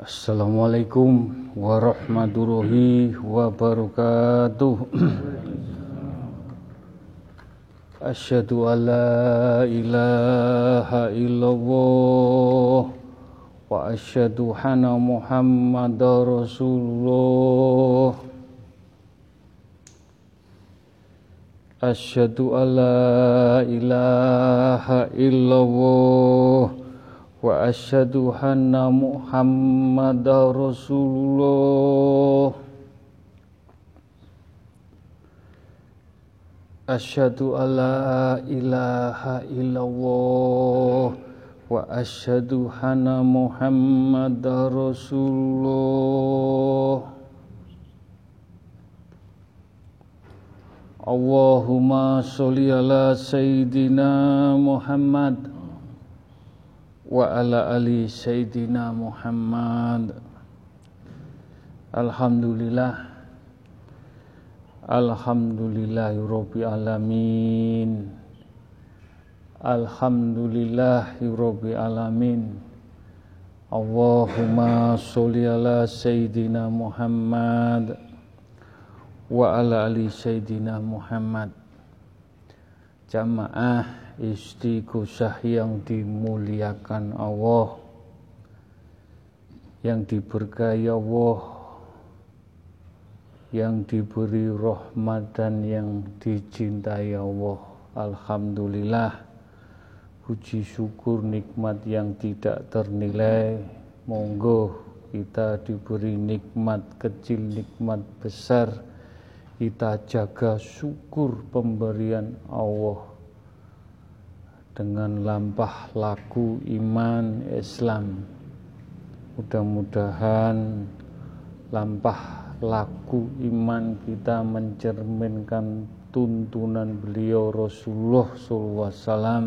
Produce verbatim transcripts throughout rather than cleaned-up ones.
Assalamualaikum warahmatullahi wabarakatuh. Asyhadu an la ilaha illallah wa asyhadu anna Muhammadar Rasulullah. Asyhadu an la ilaha illallah wa asyhadu anna Muhammadar Rasulullah. Asyhadu an la ilaha illallah wa asyhadu anna Muhammadar Rasulullah. Allahumma sholli ala sayyidina Muhammad wa ala ali sayyidina Muhammad. Alhamdulillah Alhamdulillahirabbil alamin. Alhamdulillahirabbil alamin. Allahumma sholli ala sayyidina Muhammad wa ala ali sayyidina Muhammad. Jamaah Istighosah yang dimuliakan Allah, yang diberkahi Allah, yang diberi rahmat dan yang dicintai Allah. Alhamdulillah, puji syukur nikmat yang tidak ternilai. Monggo kita diberi nikmat kecil, nikmat besar, kita jaga syukur pemberian Allah dengan lampah laku iman Islam. Mudah-mudahan lampah laku iman kita mencerminkan tuntunan beliau Rasulullah sallallahu alaihi wasallam.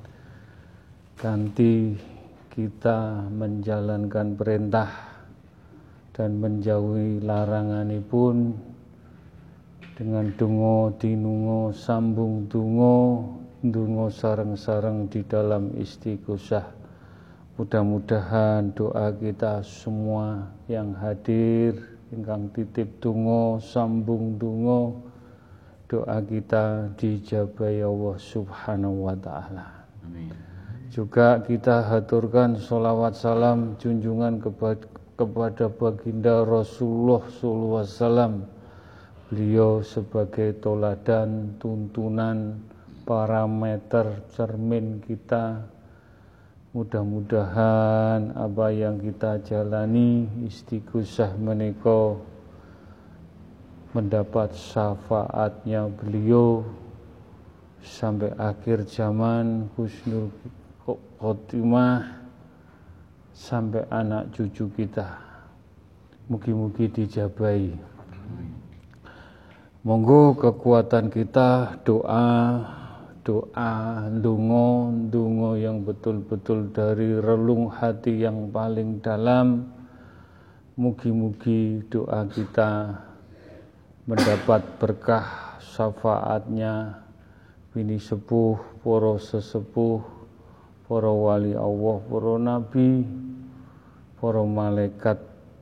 Ganti kita menjalankan perintah dan menjauhi laranganipun dengan donga dinunga sambung donga donga sareng-sareng di dalam istighosah. Mudah-mudahan doa kita semua yang hadir ingkang titip donga sambung donga, doa kita dijabahi Allah Subhanahu wa taala. Amin. Juga kita haturkan sholawat salam junjungan kepada, kepada baginda Rasulullah sallallahu alaihi wasallam. Beliau sebagai toladan, tuntunan, parameter cermin kita. Mudah-mudahan apa yang kita jalani istighosah menika mendapat syafaatnya beliau sampai akhir zaman, husnul khotimah sampai anak cucu kita. Mugi-mugi dijabahi. Monggo kekuatan kita doa, doa, donga, donga yang betul-betul dari relung hati yang paling dalam. Mugi-mugi doa kita mendapat berkah syafaatnya bini sepuh, para sesepuh, para wali Allah, para nabi, para malaikat.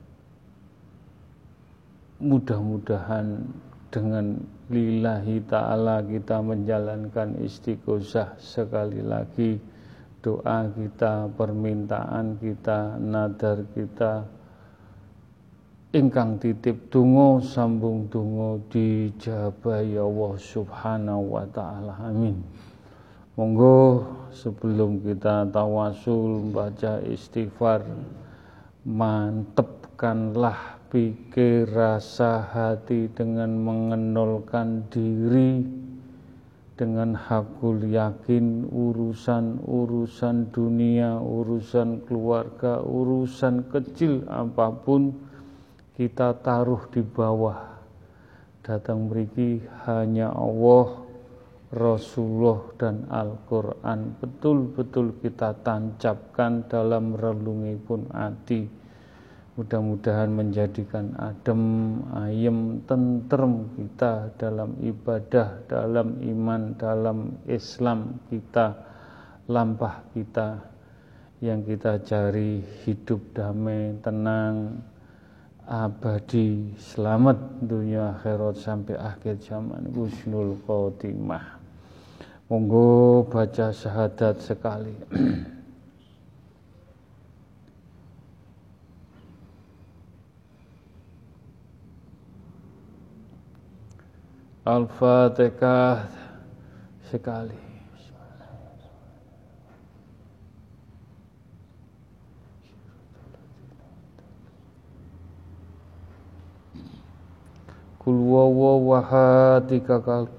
Mudah-mudahan dengan lillahi ta'ala kita menjalankan istighosah. Sekali lagi doa kita, permintaan kita, nadar kita ingkang titip donga sambung donga dijabahi Allah Subhanahu wa taala. Amin. Monggo sebelum kita tawasul baca istighfar, mantepkanlah pikir rasa hati dengan mengenolkan diri, dengan hakul yakin urusan-urusan dunia, urusan keluarga, urusan kecil apapun kita taruh di bawah. Datang mriki hanya Allah, Rasulullah dan Al-Quran betul-betul kita tancapkan dalam relungipun ati. Mudah-mudahan menjadikan adem, ayem, tentrem kita dalam ibadah, dalam iman, dalam Islam kita, lampah kita yang kita cari hidup damai, tenang, abadi, selamat dunia akhirat sampai akhir zaman, husnul khotimah. Monggo baca syahadat sekali. Al-Fatihah sekali. Kul huwallahu tiga kali.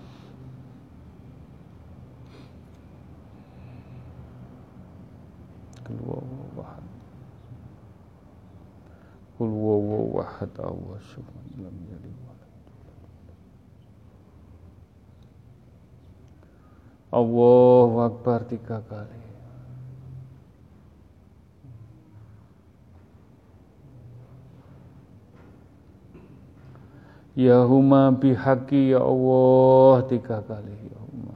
Kul huwallahu ahad. Kul huwallahu ahad. Allahu samad lam yalid wa lam yulad. Allahu akbar tiga kali. Ya huma bihaqi ya Allah tiga kali. Ya huma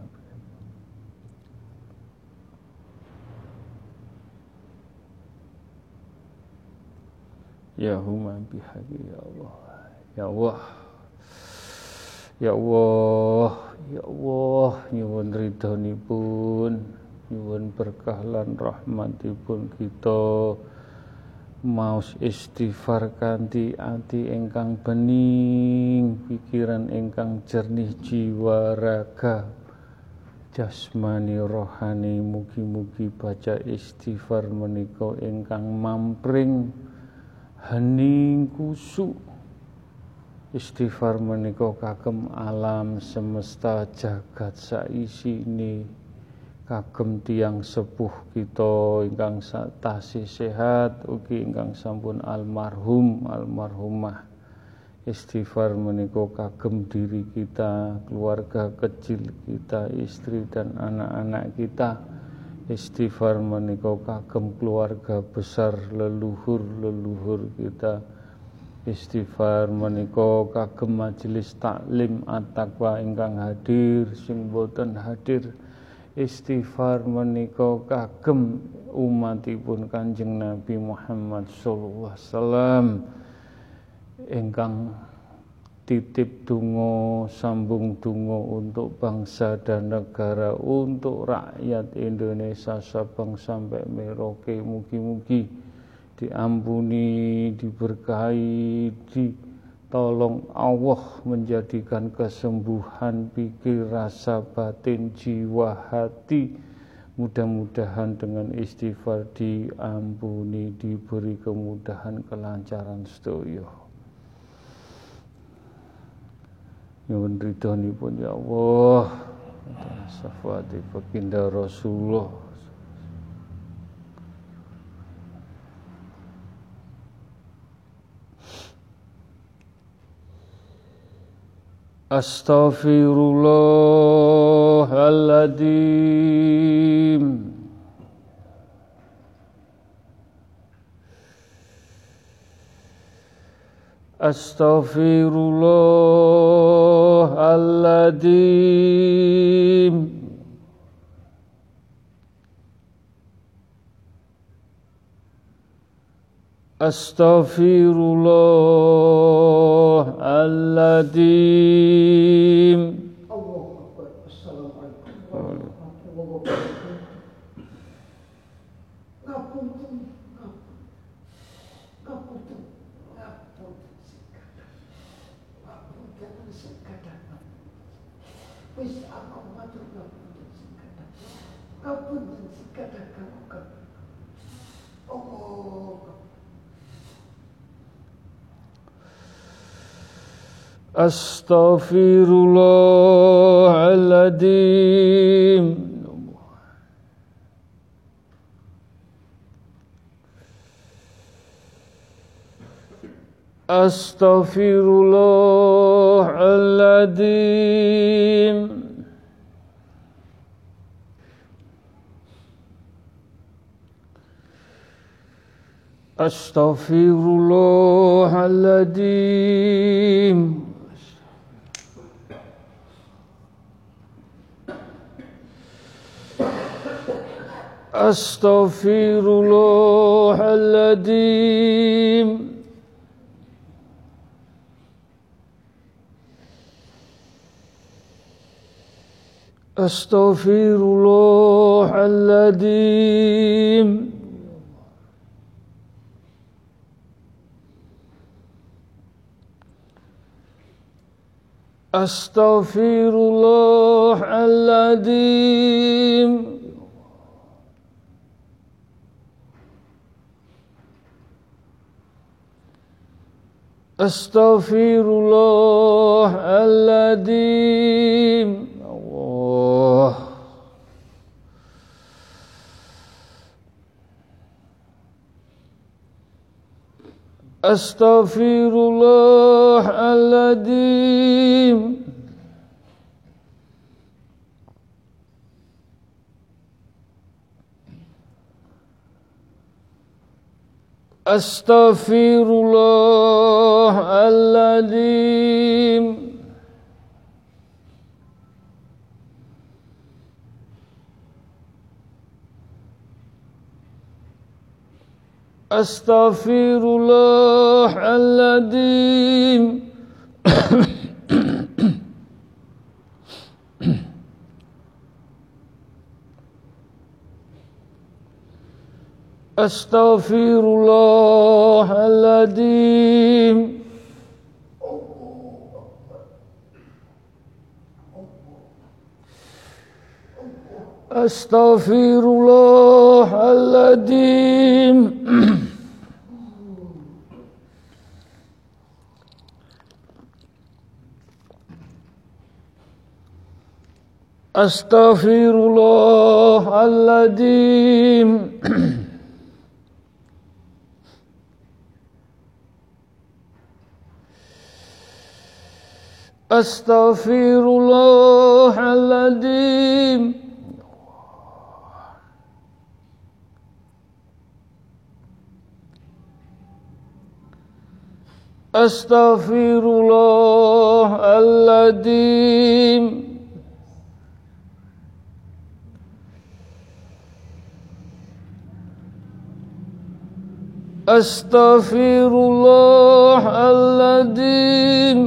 Ya huma bihaqi ya Allah. Ya Allah. Ya Allah, ya Allah, nyuwun ridhonipun, nyuwun berkah lan rahmatipun kita. Maos istighfar kanthi ati ingkang bening, pikiran ingkang jernih, jiwa raga jasmani rohani, mugi-mugi baca istighfar menika ingkang mampring hening kusuk. Istighfar menika kagem alam semesta jagat saisine, kagem tiyang sepuh kita ingkang tasih sehat, ugi ingkang sampun almarhum almarhumah. Istighfar menika kagem diri kita, keluarga kecil kita, istri dan anak-anak kita. Istighfar menika kagem keluarga besar leluhur-leluhur kita. Istighfar menika kagem majelis taklim at-taqwa ingkang hadir sing boten hadir. Istighfar menika kagem umatipun Kanjeng Nabi Muhammad sallallahu alaihi wasallam ingkang titip donga, sambung donga untuk bangsa dan negara, untuk rakyat Indonesia Sabang sampai Merauke. Mugi-mugi diampuni, diberkahi, ditolong Allah, menjadikan kesembuhan pikir, rasa batin, jiwa, hati. Mudah-mudahan dengan istighfar diampuni, diberi kemudahan, kelancaran sedaya. Nyuwun ridhonipun ya Allah, syafaati baginda Rasulullah. Astaghfirullahaladzim. Astaghfirullahaladzim. Astaghfirullahaladzim. Allahu Akbar. Assalamualaikum warahmatullahi wabarakatuh. Ngapunten, ngapunten, ngapunten sekadang, ngapunten sekadang. Wis aku matur ngapunten sekadang, ngapunten sekadang kamu. Allah. Astaghfirullahaladzim. Astaghfirullahaladzim. Astaghfirullahaladzim. Astaghfirullahaladzim. Astaghfirullahaladzim. Astaghfirullahaladzim. Astaghfirullahaladzim. Allah. Astaghfirullahaladzim. Astaghfirullahaladzim. Astaghfirullahaladzim. Astaghfirullahaladzim. Astaghfirullahaladzim. Astaghfirullahaladzim. Astaghfirullahaladzim. Astaghfirullahaladzim. Astaghfirullahaladzim.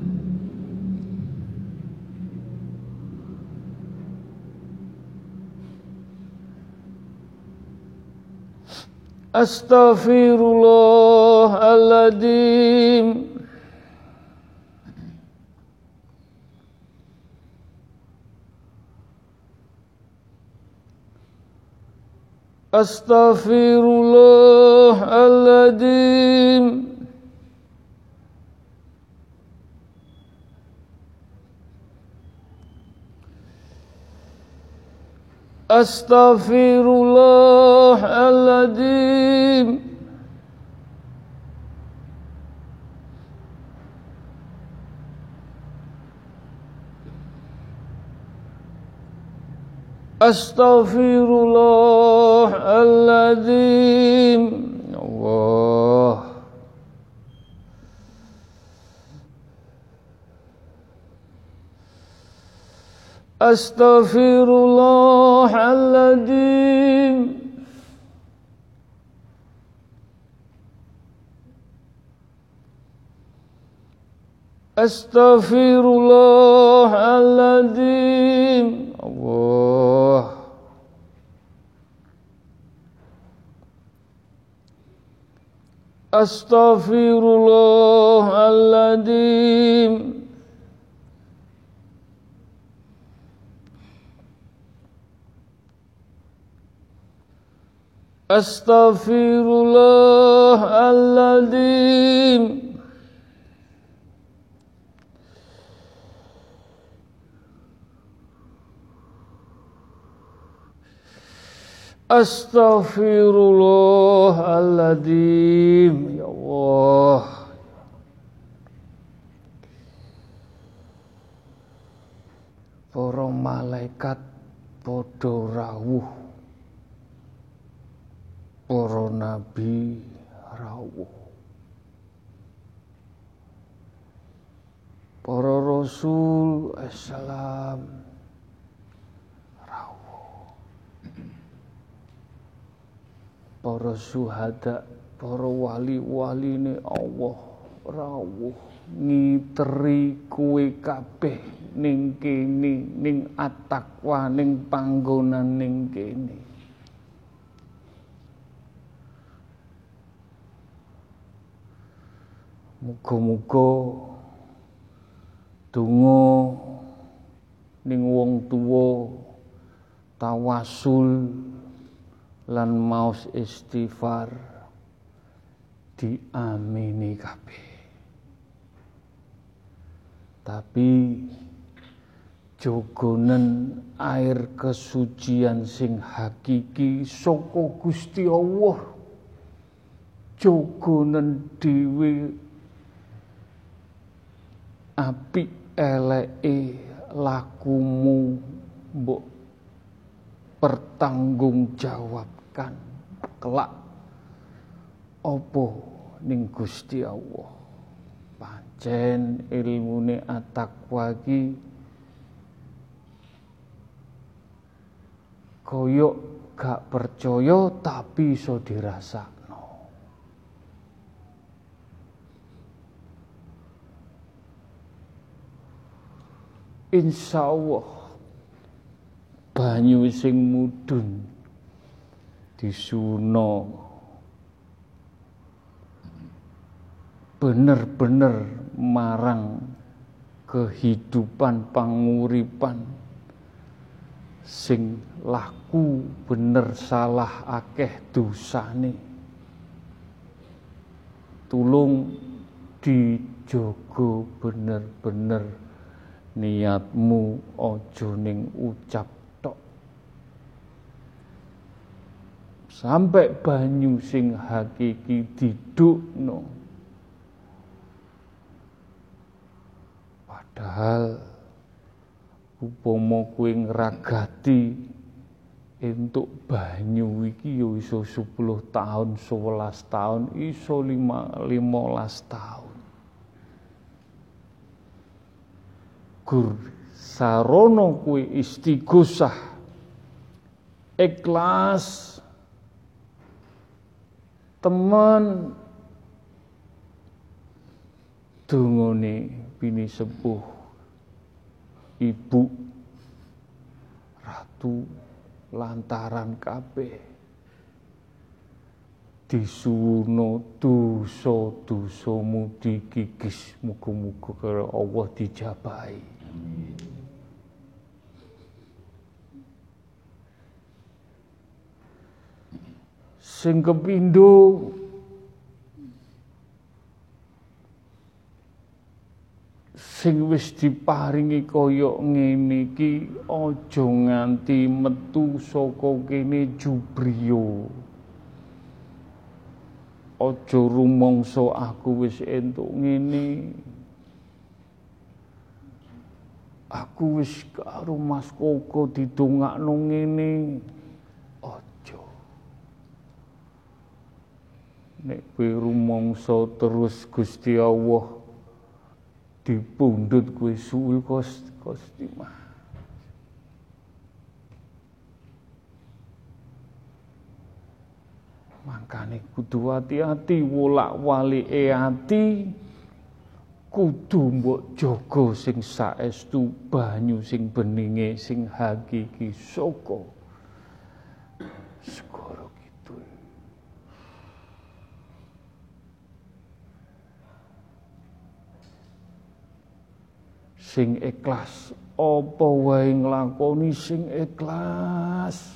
Astaghfirullahaladzim. Astaghfirullahaladzim. Astaghfirullahaladzim. Astaghfirullahaladzim. Allah. Astaghfirullahaladzim. Astaghfirullahaladzim. Allah. Astaghfirullahaladzim. Astaghfirullahaladzim. Astaghfirullahaladzim. Ya Allah. Para malaikat padha rawuh, para nabi rawuh, para rasul assalam rawuh. para syuhada, para wali-waline Allah rawuh ngiteri kowe kabeh ning kene, ning at-taqwa, ning panggonan ning kene. Muga-muga donga ning wong tuwa tawasul lan maos istighfar diamini kabeh. Tapi jogonen air kesucian sing hakiki saka Gusti Allah, jogonen dhewe apik eleke lakumu mbok pertanggungjawabkan kelak apa ning Gusti Allah. Pancen ilmune at-taqwa iki koyok gak percaya tapi iso dirasakno. Insyaallah banyu sing mudhun disuno bener-bener marang kehidupan panguripan sing laku bener salah akeh dosane. Tulung dijogo bener-bener niatmu, aja ning ucap tok. Sampai banyu sing hakiki didukno. Padahal upama kowe ngragati entuk banyu iki ya iso sepuluh tahun, sewelas tahun, iso limolas tahun. Gur sarono kowe istighosah ikhlas temen dungane bini sepuh ibu ratu lantaran kabeh disuwuno dosa-dosamu dikikis, muga-muga karo Allah dijabahi. Sing kepindho sing wis diparingi kaya ngene iki aja nganti metu saka kene jubriya. Aja rumangsa aku wis entuk ngene. Aku wis karo Mas Koko didongakno ngene. Aja. Nek kowe rumangsa terus Gusti Allah dipundhut kowe suul kostimah. Makane kudu hati-hati wolak-walike ati, kudu mbok jaga sing saestu banyu sing beninge sing hakiki saka segara kidul. Sing ikhlas, apa wae nglakoni sing ikhlas.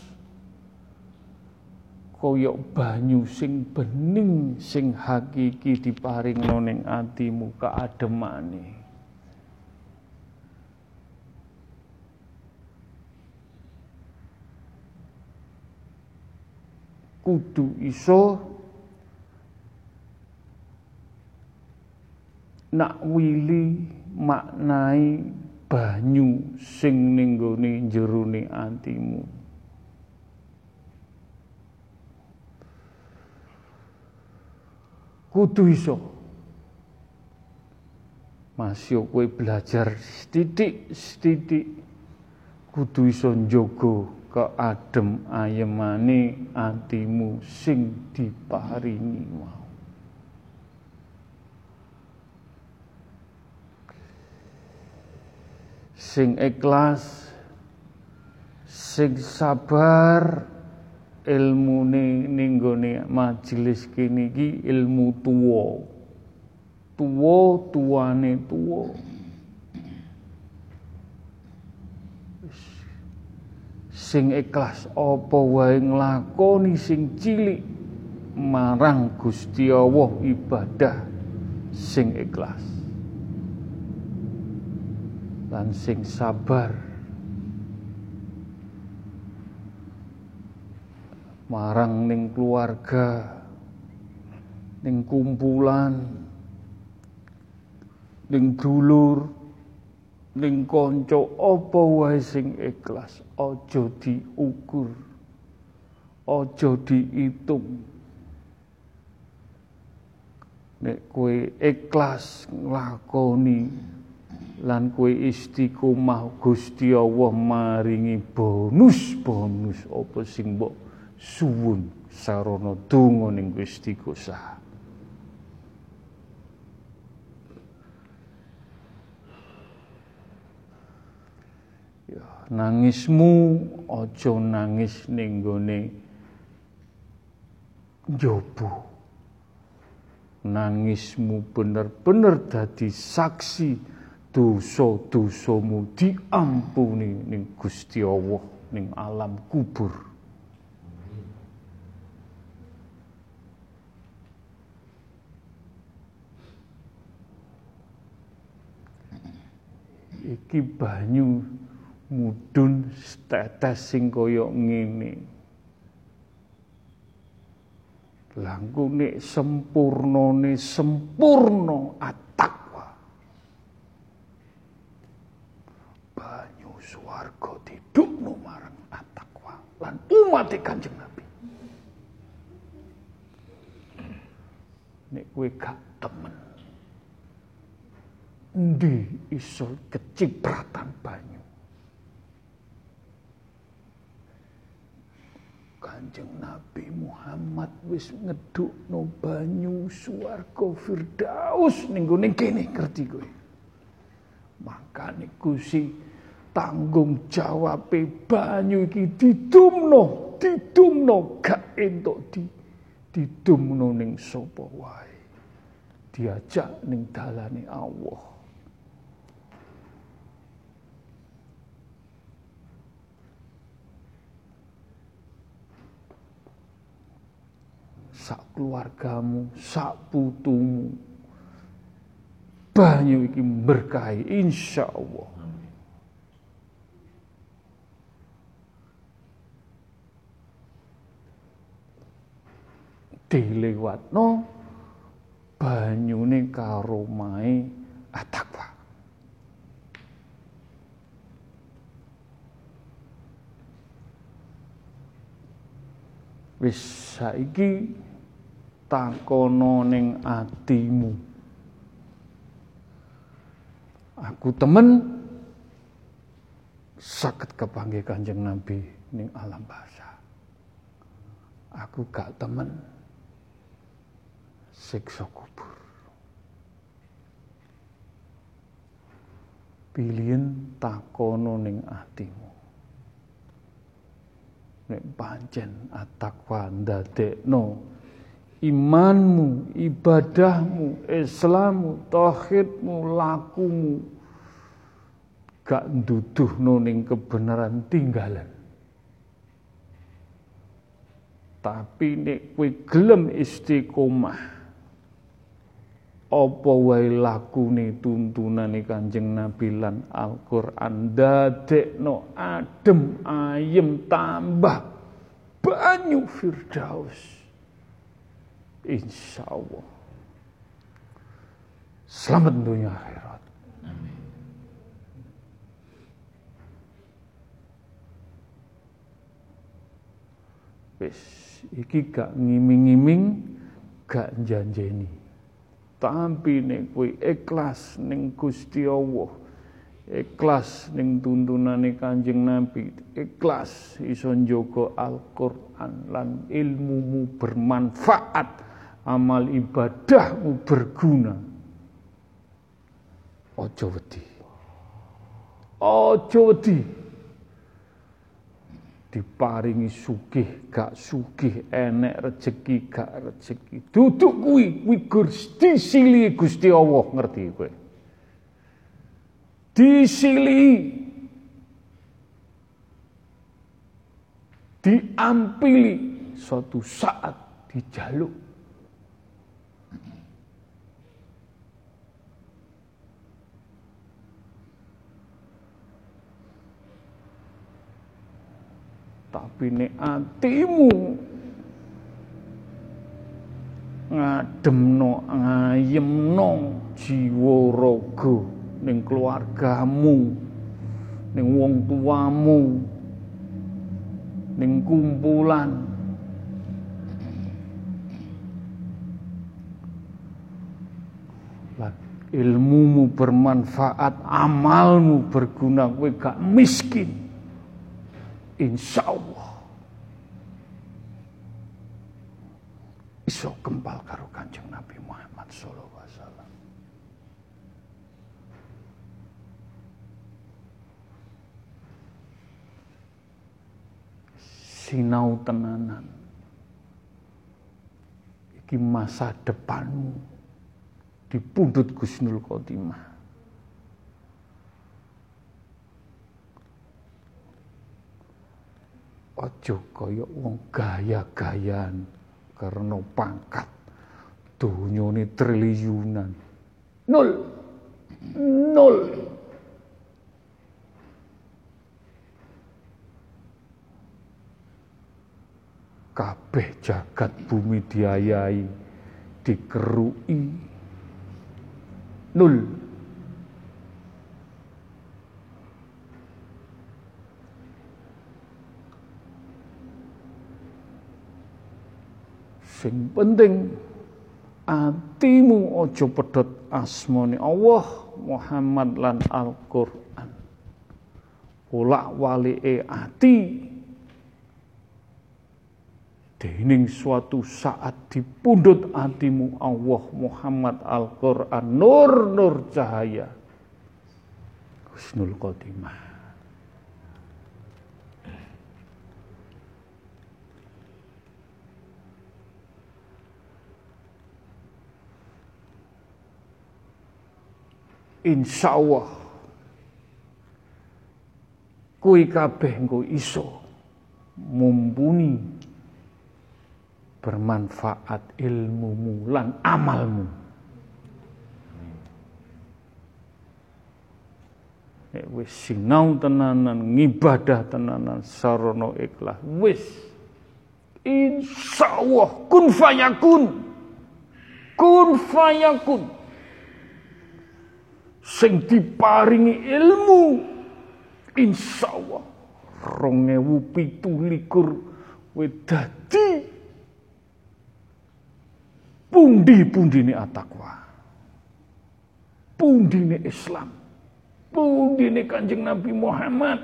Koyok banyu sing bening sing hakiki diparingno ning atimu kaademane. Kudu iso nak wili maknai banyu sing ning gone jerone atimu. Kudu iso. Masih kowe belajar sithik-sithik kudu iso njogo keadem ayemane atimu sing diparingi mau. Sing ikhlas, sing sabar, ilmune ning gone majelis kene iki ilmu tuwa. Tuwa tuwane tuwa. Sing ikhlas apa wae nglakoni sing cilik marang Gusti Allah ibadah sing ikhlas. Lan sing sabar marang ning keluarga, ning kumpulan, ning dulur, ning kanca apa wae sing ikhlas, aja diukur, aja diitung. Nek kowe ikhlas nglakoni lan kowe istiqomah, Gusti Allah maringi bonus-bonus apa sing mbok suwun sarana donga ning Gusti Gusti. Nangismu aja nangis ning gone njaba. Nangismu bener-bener dadi saksi dosa-dosamu diampuni ning Gusti Allah ning alam kubur. Iki banyu mudhun tetes sing kaya ngene. Langku nek sempurnane sempurna at-taqwa. Banyu swarga didukno marang at-taqwa lan umat Kanjeng Nabi. Nek kowe gak temen endi iso kecipratan banyu. Kanjeng Nabi Muhammad wis ngedukno banyu swarga Firdaus ning gone kene, ngerti kowe. Makane Gusti tanggung jawabe banyu iki didumno, didumno gak entuk di didumno ning sapa wae. Diajak ning dalane Allah. Sak keluargamu, sak putumu, banyu iki berkahi insyaallah. Dilewatno banyune karo mae at-taqwa. Wis saiki takono ning atimu. Aku temen saged kepanggih Kanjeng Nabi ning alam barzah. Aku gak temen siksa kubur. Pilihan takono ning atimu. Nek pancen at-taqwa ndadekno imanmu, ibadahmu, Islammu, tauhidmu, lakumu gak nduduhno ning kebenaran tinggalan. Tapi nek kowe gelem istiqomah, apa wae lakune tuntunane Kanjeng Nabi lan Al-Qur'an dadekno adem ayem tambah banyu Firdaus. Insyaallah. Selamat dunia akhirat. Amin. Wis iki gak ngiming-ngiming, gak janjeni. Tapi nek kowe ikhlas ning Gusti Allah, ikhlas ning tuntunane Kanjeng Nabi, ikhlas iso njaga Al-Qur'an lan ilmumu bermanfaat, amal ibadahmu berguna. Aja wedi. Aja wedi. Diparingi sugih gak sugih, enek rezeki gak rezeki, duduk kuwi kuwi Gusti sili Gusti Allah, ngerti kowe. Disili, diampili, suatu saat dijaluk. Tapi nek atimu ngademno, ngayemno jiwa raga ning keluargamu, ning wong tuamu, ning kumpulan, lan ilmumu bermanfaat, amalmu berguna, kowe gak miskin. Insya Allah iso kempal karo Kanjeng Nabi Muhammad sallallahu alaihi wasallam. Sinau tenanan. Iki masa depanmu dipundhut Husnul Khotimah. Aja kaya wong gaya-gayan karena pangkat donyane triliunan. Nol. Nol. Kabeh jagat bumi diayahi, dikerui. Nol. Sing penting atimu aja pedhot asmane Allah, Muhammad lan Al-Qur'an. Wolak-walike ati dening suatu saat dipundhut atimu Allah, Muhammad, Al-Qur'an, nur-nur cahaya Husnul Khotimah. Insya Allah kuwi kabeh engko iso mumpuni bermanfaat ilmumu lan amalmu. Nek wis sinau tenanan, ngibadah tenanan sarana ikhlas, wis insya Allah kun fayakun. Kun fayakun. Sing diparingi ilmu insyaallah rong ewu pitu likur kowe dadi pundi-pundine at-taqwa, pundine Islam, pundine Kanjeng Nabi Muhammad.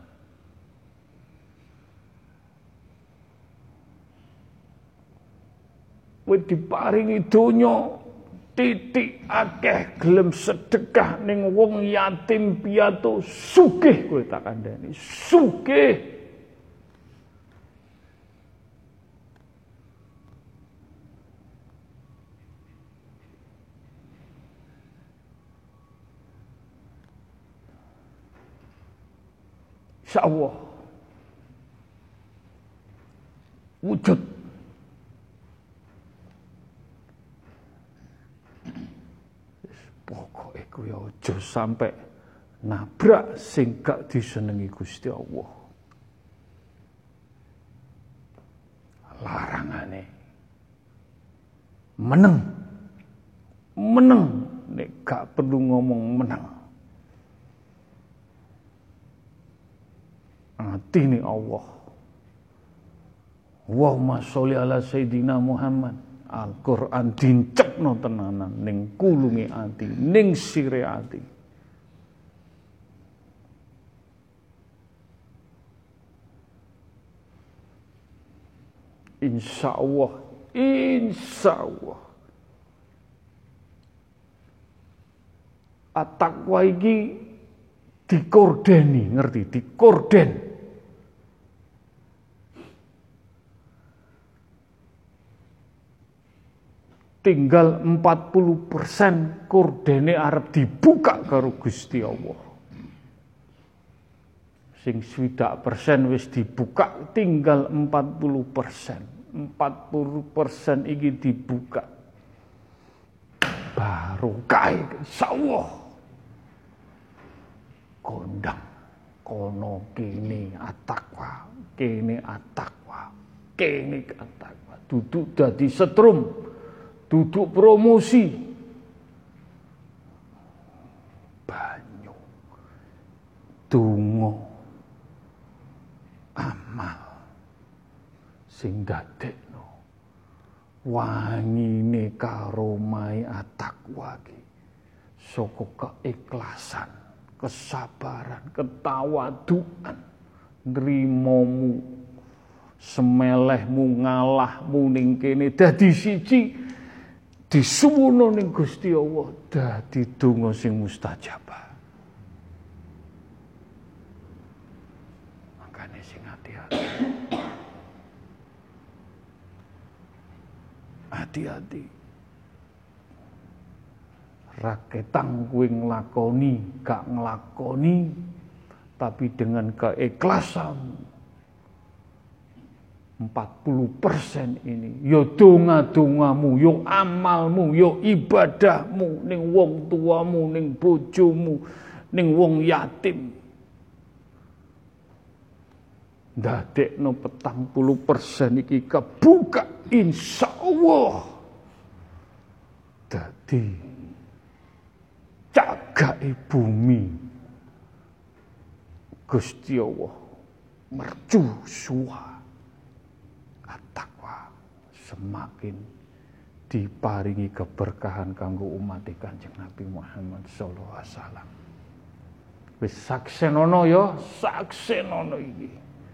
Kowe diparingi donya titik akeh gelem sedekah ning wong yatim piatu, sugih kowe tak kandhani, sugih. Insyaallah wujud pokoke kuwi aja sampai nabrak sing gak disenengi Gusti Allah. Larangane meneng, meneng nek gak perlu ngomong meneng. Atine Allah. Allahumma sholli ala Sayyidina Muhammad. Al-Qur'an dincekno tenanan ning kulunge ati, ning sire ati. Insya Allah, insya Allah. At-taqwa iki dikordeni, ngerti? Dikorden. Tinggal empat puluh persen kordene arep dibuka karo Gusti Allah. Sing swidak persen wis dibuka, tinggal empat puluh persen. empat puluh persen iki dibuka. Barokah insyaallah. Kondang kono kene at-taqwa, kene at-taqwa, kene at-taqwa. Duduk dadi setrum, duduk promosi. Banyu. Donga. Amal sing dadekno wangine karomai at-taqwa ki saka keikhlasan, kesabaran, ketawaduan, nrimomu, semelehmu, ngalahmu ning kene dadi siji disuwuna ning Gusti Allah dadi donga sing mustajabah. Makane sing hati-hati. Hati-hati. Raketang kuwi nglakoni, gak nglakoni, tapi dengan keikhlasan empat puluh persen ini, yo donga-dongamu, yo amalmu, yo ibadahmu ning wong tuamu, ning bojomu, ning wong yatim. Ndadekno petang puluh persen iki kebuka insyaallah. Dadi cagake bumi Gusti Allah mercusuar at-taqwa semakin diparingi keberkahan kanggo umat Kanjeng Nabi Muhammad sallallahu alaihi wasallam. Wis saksenono ya, saksenono iki.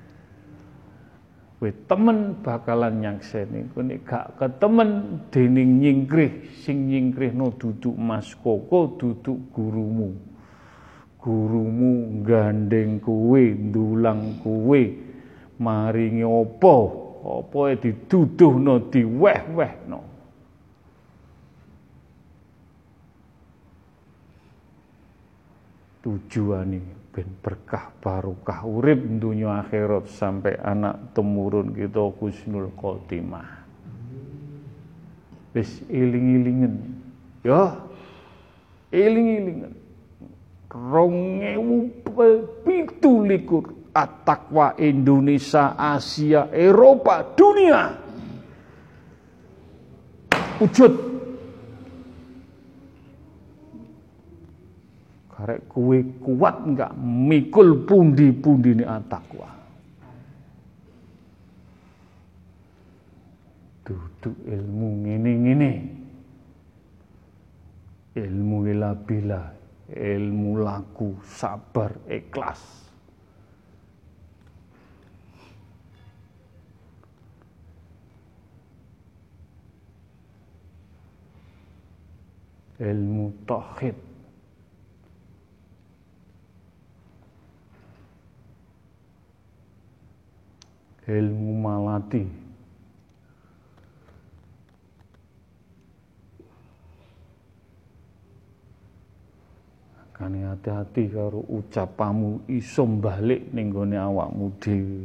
Kowe temen bakalan nyakseni, kowe nek gak ketemen dening nyingkrih, sing nyingkrihno duduk Mas Koko, duduk gurumu. Gurumu gandeng kowe, ndulang kowe, maringi apa? Apa dituduhno, diweh-wehno. Tujuane ben berkah barokah urip dunya akhirat sampai anak temurun kita husnul khotimah. Wis eling-elingen. Ya. Eling-elingen. rong ewu pitu likur at-taqwa Indonesia, Asia, Eropa, dunia. Wujud. Karek kue kuat enggak mikul pundi-pundi ini at-taqwa. Duduk ilmu ngene-ngene. Ilmu ilabila, ilmu laku, sabar, ikhlas. Ilmu tauhid. Ilmu malati. Kane hati-hati karo ucapamu iso balik ning gone awakmu dhewe.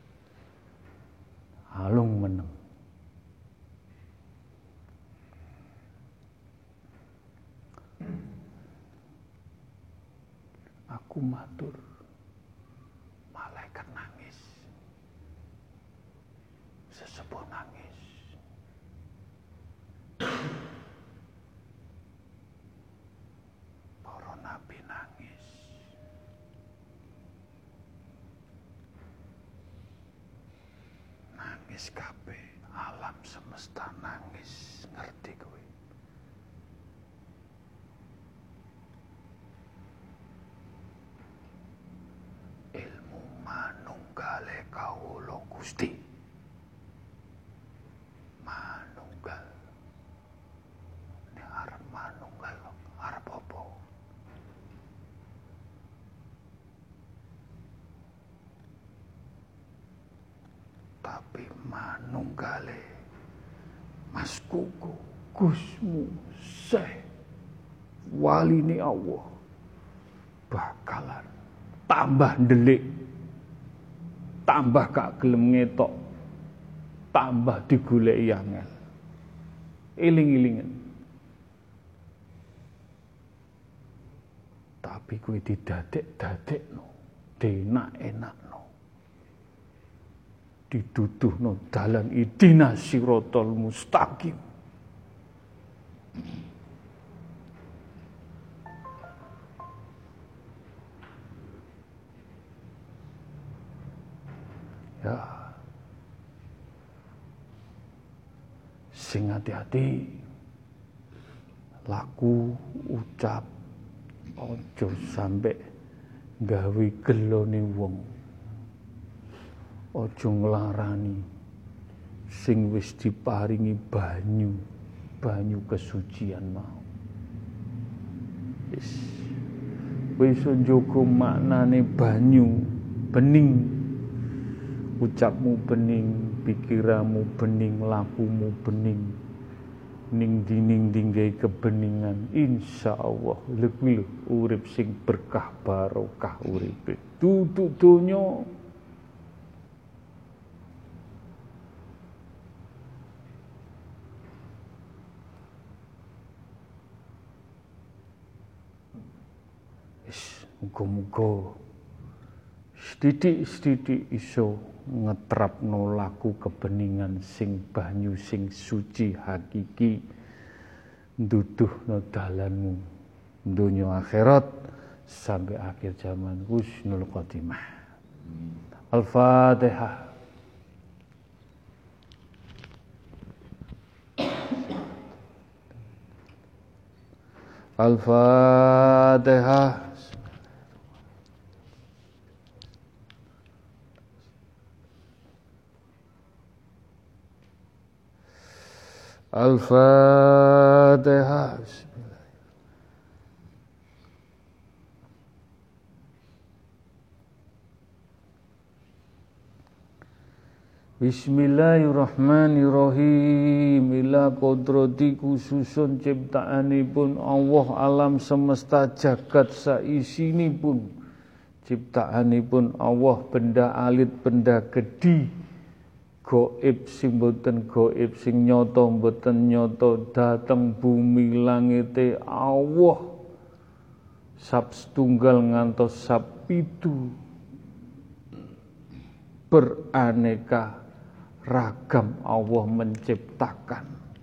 Halung meneng. Aku matur. Malaikat nangis. Sesepuh nangis. Para nabi nangis. Nangis kabeh, alam semesta nangis, ngerti kowe. Ilmu manunggale kawula Gusti. manunggale Mas Kuku Gusmu Syekh waline Allah bakalan tambah ndelik, tambah gak gelem ngetok, tambah digoleki angel. Eling-elingen. Tapi kowe didadek-dadekno, denak-enakno. Diduduhno dalan idina sirotol mustaqim. Ya, sing hati-hati, laku ucap, ojo sampe gawe gelone wong, ojo nglarani sing wis diparingi banyu, banyu kesucian mau. Wis wis njogo maknane banyu bening. Ucapmu bening, pikiranmu bening, lakumu bening, ning dining dinggai kebeningan, insya Allah lebih urip sing berkah barokah uripe. Duduk donya wis muga-muga sithik-sithik iso ngetrapno laku kebeningan sing banyu sing suci hakiki nduduhno dalanmu dunya akhirat sampai akhir zaman husnul khotimah. Al-Fatihah. Al-Fatihah. Al-Fatihah. Bismillahirrahmanirrahim. Ila kodrati khususun ciptaanipun Allah alam semesta jagat saisinipun. Ciptaanipun Allah benda alit benda gedi. Gaib sing boten gaib sing nyata boten nyata dateng bumi langite Allah sab setunggal ngantos sab pitu beraneka ragam Allah menciptakan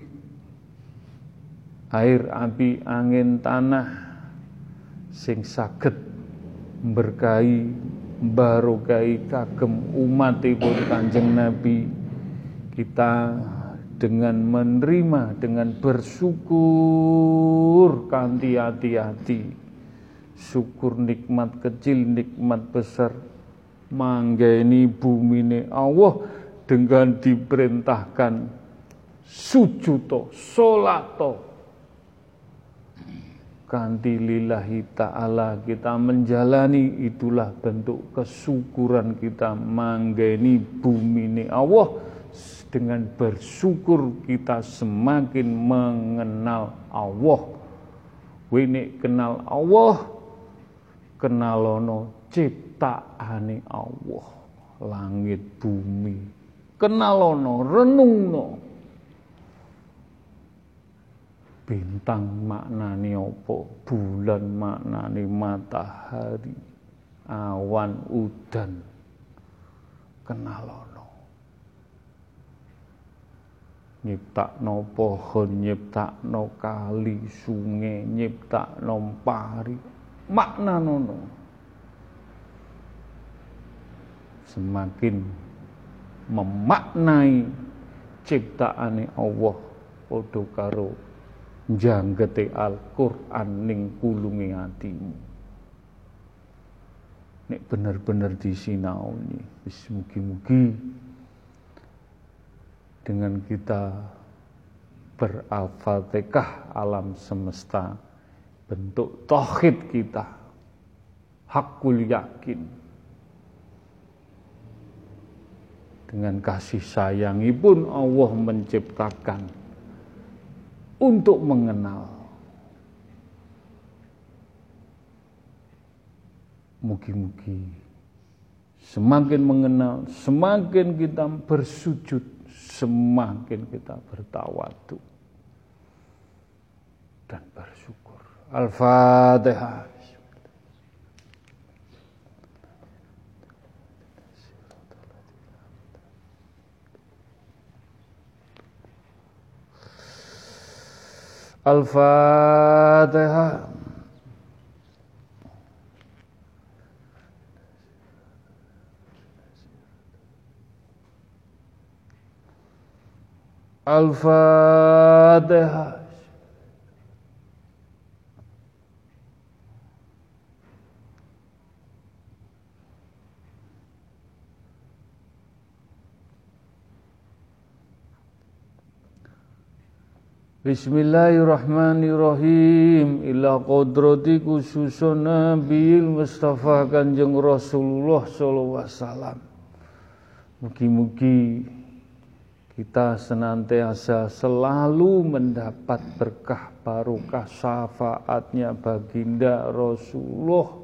air api angin tanah sing saged berkahi barokai kagem umatipun Kanjeng Nabi. Kita dengan menerima, dengan bersyukur kanthi hati-hati, syukur nikmat kecil, nikmat besar, manggeni bumine Allah dengan diperintahkan sujudo, solato kanthi lillahi ta'ala kita menjalani, itulah bentuk kesyukuran kita manggeni bumine Allah. Dengan bersyukur kita semakin mengenal Allah. Wene kenal Allah, kenalono ciptaane Allah, langit bumi, kenalono renungno bintang maknane apa, bulan maknane matahari, awan udan, kenalono. Nyiptakno pohon, nyiptakno kali, sungai, nyiptakno pari, maknanono. Semakin memaknai ciptaane Allah padha karo njanggete Al-Qur'an ning kulunge atimu. Nek bener-bener disinaoni, wis mugi-mugi dengan kita ber-Al-Fatihah alam semesta bentuk tauhid kita hakul yakin Dengan kasih sayangipun Allah menciptakan untuk mengenal. Mugi-mugi semakin mengenal, semakin kita bersujud, semakin kita bertawadu dan bersyukur. Al-Fatihah. Al-Fatihah. Al-Fatihah. Bismillahirrahmanirrahim. Ila qadrati khususun Nabiil Mustafa Kanjeng Rasulullah sallallahu alaihi wasallam. Mugi-mugi kita senantiasa selalu mendapat berkah barokah syafaatnya baginda Rasulullah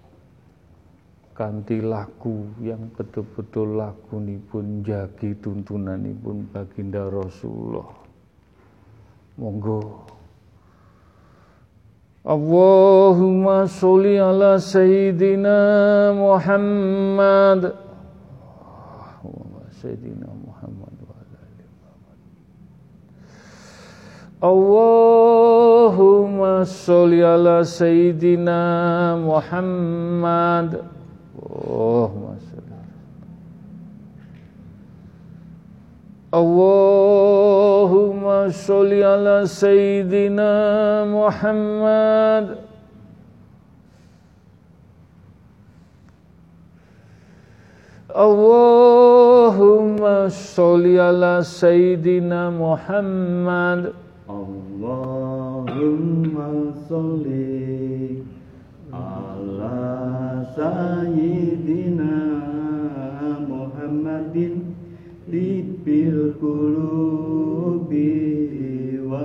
kanthi lagu yang betul-betul lagunipun jagi tuntunanipun baginda Rasulullah. Monggo. Allahumma sholli ala sayyidina Muhammad. Allahumma sayyidina Muhammad wa ala ali Muhammad. Allahumma sholli ala sayyidina Muhammad. Allahumma sholli. Allahumma sholli ala sayyidina Muhammad. Allahumma sholli ala sayyidina Muhammad. Allahumma sholli ala sayyidina Muhammadin Tibil qulubi wa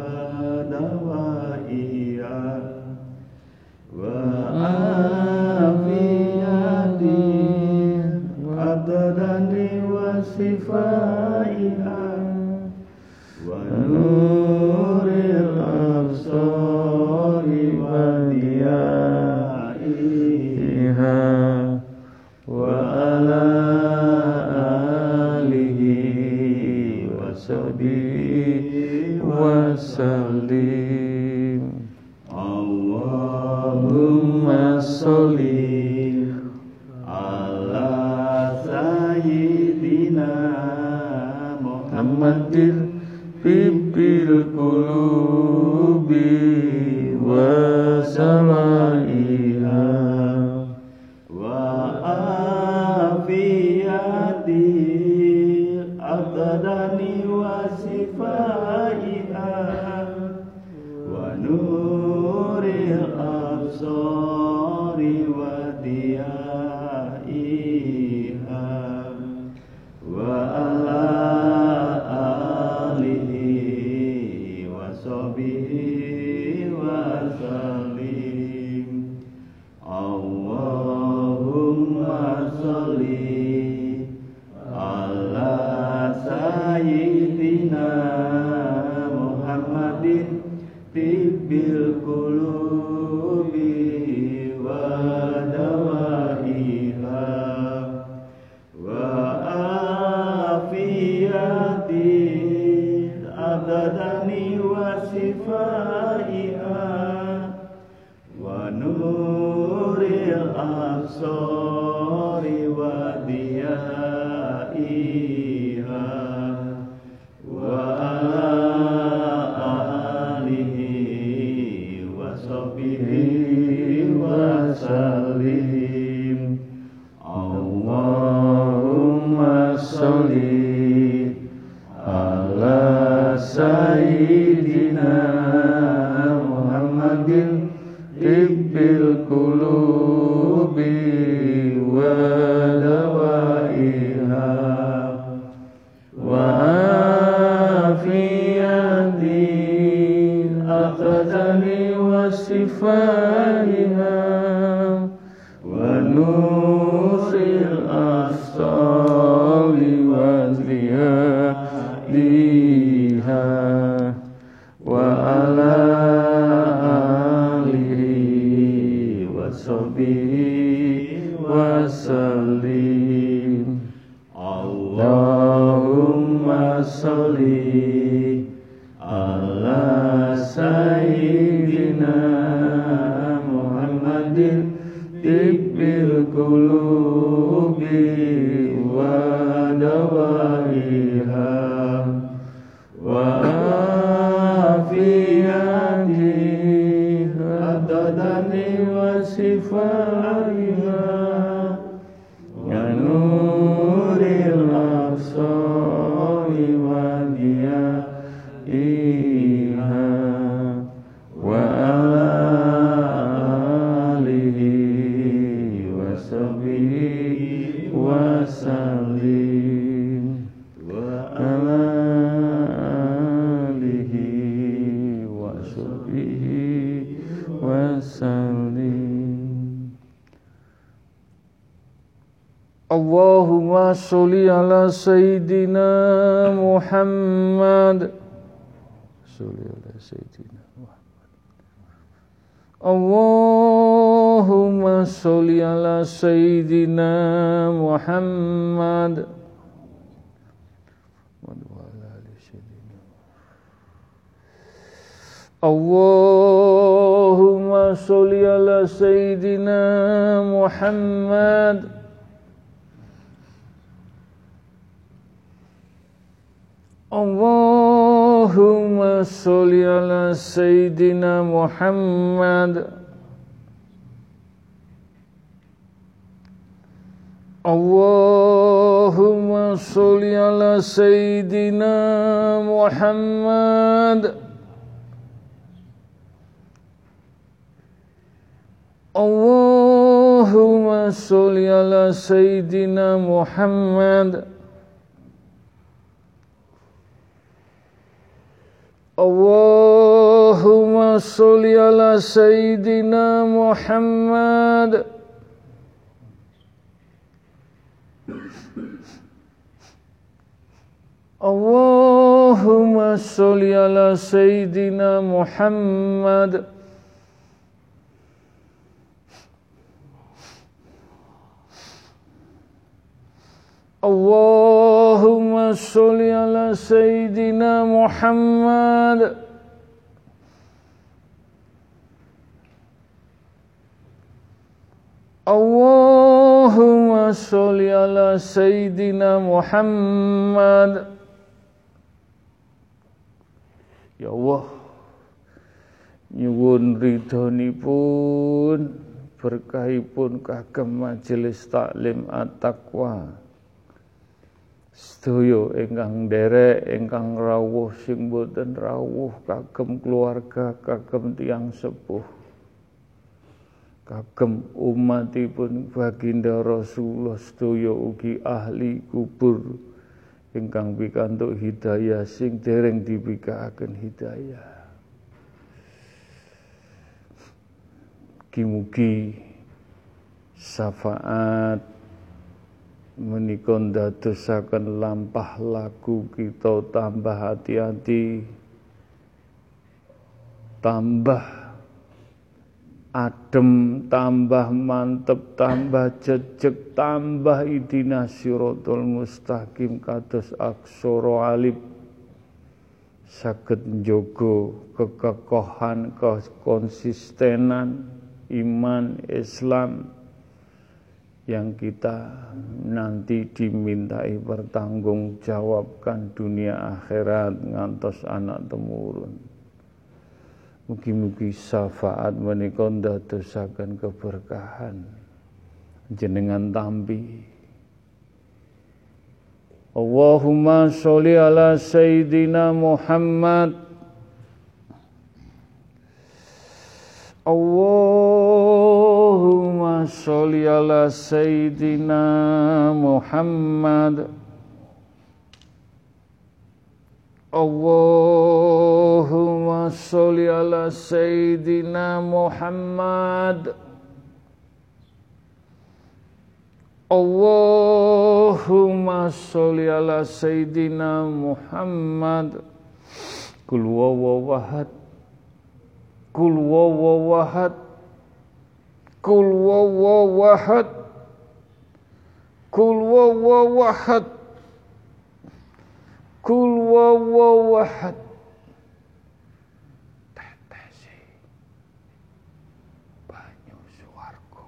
dawaiha wa afiyati adadani wa sifaiha wa nuril absari wa diyaiha wa ala wasallim. Allahumma sholli ala sayyidina Muhammadin Tibil qulubi wa samaiha wa afiyati adadani wa sifaiha wa nuril absari wa diyaiha wa ala alihi wa sahbihi wa sallim. Allahumma sholli ala sayyidina Muhammadin Tibil qulubi wa dawaiha wa afiyati adadani wa sifaiha wa nuril absari wa diyaiha wa ala alihi wa sahbihi wa sallim. Allahumma sholli ala sayyidina Muhammadin Tibil qulubi wa dawaiha شفائها ونور الأبصار وضيائها وعلى آله وصحبه وسلم Allahumma sholli ala sayyidina Muhammadin tibbil qulubi wa dawaiha wa afiyatiha adadani wa sifaiha ya nuril absari wa diyaiha wa ala alihi wa sahbihi wa sallim wa ala alihi wa sahbihi wa sallim. Allahumma sholli ala sayyidina Muhammad. Sholli ala sayyidina Muhammad. Allahumma sholli ala sayyidina Muhammad. Allahumma sholli ala sayyidina Muhammad. Allahumma sholli ala sayyidina Muhammad. Allahumma sholli ala sayyidina Muhammad. Allahumma sholli ala sayyidina Muhammad. Allahumma sholli ala sayyidina Muhammad. Allahumma sholli ala sayyidina Muhammad. Allahumma sholli ala sayyidina Muhammad. Allahumma sholli ala sayyidina Muhammad. Ya Allah, nyuwun ridhonipun berkahipun kagem majelis taklim at-taqwa. Sedaya ingkang nderek ingkang rawuh sing boten rawuh kagem keluarga kagem tiyang sepuh kagem umatipun baginda Rasulullah sedaya ugi ahli kubur ingkang pikantuk hidayah sing dereng dipikaaken hidayah. Mugi-mugi syafaat menika ndadosaken lampah laku kita tambah hati-hati, tambah adem, tambah mantep, tambah jejeg, tambah idina siratal mustaqim kados aksara alif saged njaga kekekohan, kekonsistenan iman Islam yang kita nanti dimintai pertanggungjawabkan dunia akhirat ngantos anak temurun. Mugi-mugi syafaat menika ndadosaken keberkahan jenengan tampi. Allahumma sholli ala sayyidina Muhammad. Allahumma sholli ala sayyidina Muhammad. Allahumma Allahumma sholli ala Sayyidina Muhammad. Allahumma sholli ala Sayyidina Muhammad. Kul wawawahad, Kul wawawahad, Kul wawawahad, Kul wawawahad, Kul wawawahad. Tetesi banyu swarga,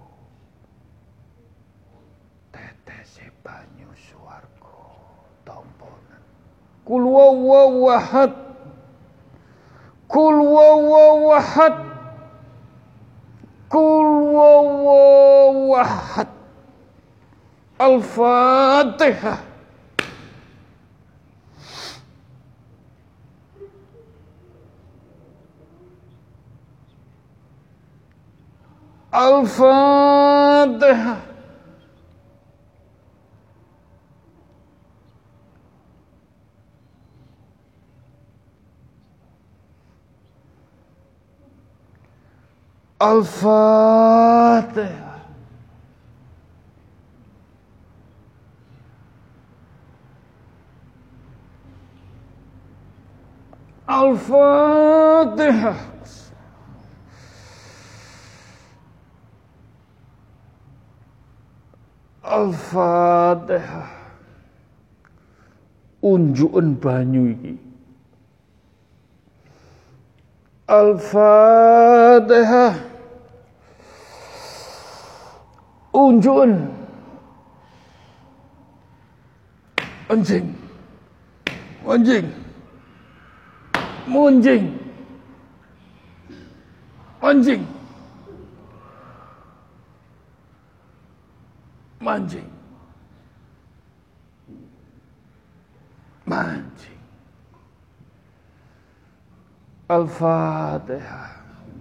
tetesi banyu swarga tamponan. Kul wawawahad, Kul wawawahad, Kul wawawahad. Al-Fatihah. Al-Fatihah. Al-Fatihah. Al-Fatihah. Al-Fatihah. Unjuken banyu iki. Al-Fatihah. Unjuken. Anjing. Anjing. Munjing. Anjing. Manjing. Manjing. Al-Fatihah.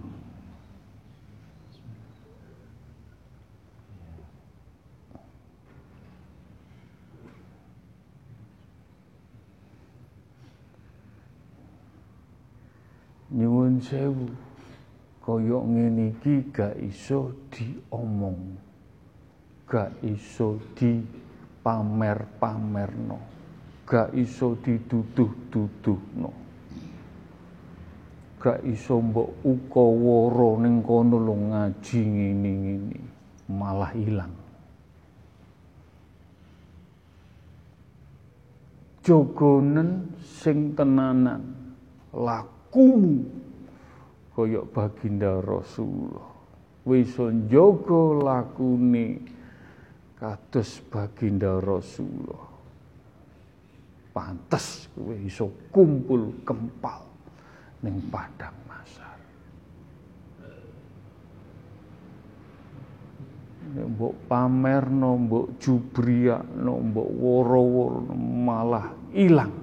Nyuwun sewu, kaya ngene iki gak iso diomong, gak iso dipamer-pamerno, gak iso dituduh-tuduhno, gak iso mbok ukawara ning kono lho ngaji ngene-ngene, malah ilang. Jogonen sing tenanan, laku kumu kaya baginda Rasulullah, wis njaga lakune kados baginda Rasulullah. Pantes kowe iso kumpul kempal ning padang mahsyar. Nek mbok pamerno, mbok jubriakno, mbok woro-woro malah ilang.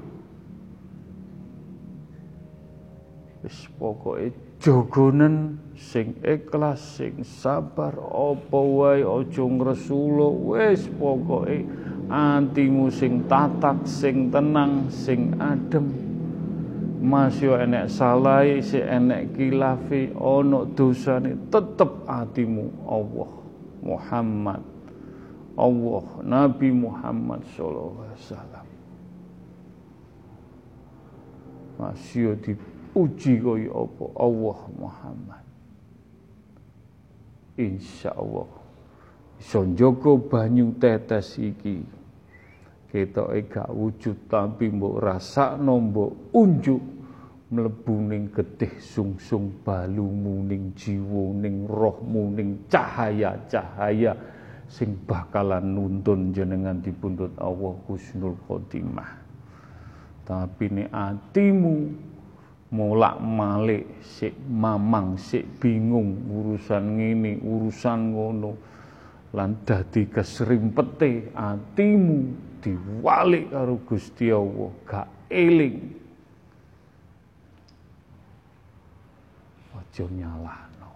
Wis pokoke jogonen sing ikhlas, sing sabar, apa wae aja ngresula, wis pokoke atimu sing tatak, sing tenang, sing adem. Mas yo enek salahe, sing enek kilafe, ana dosane, tetep atimu Allah Muhammad, Allah Nabi Muhammad sallallahu alaihi wasallam. Mas yo di uji kaya apa Allah Muhammad. Insyaallah iso njaga banyu tetes iki. Ketoke gak wujud tapi mbok rasakno, mbok unjuk mlebu ning getih sungsung balumu, ning jiwa, ning rohmu, ning cahaya-cahaya sing bakalan nuntun jenengan dipundhut Allah husnul khotimah. Tapi nek atimu molak malik, sik mamang, sik bingung urusan ngene, urusan ngono, lan dadi kesrimpete atimu diwalik karo Gusti Allah, gak eling, aja nyalahno.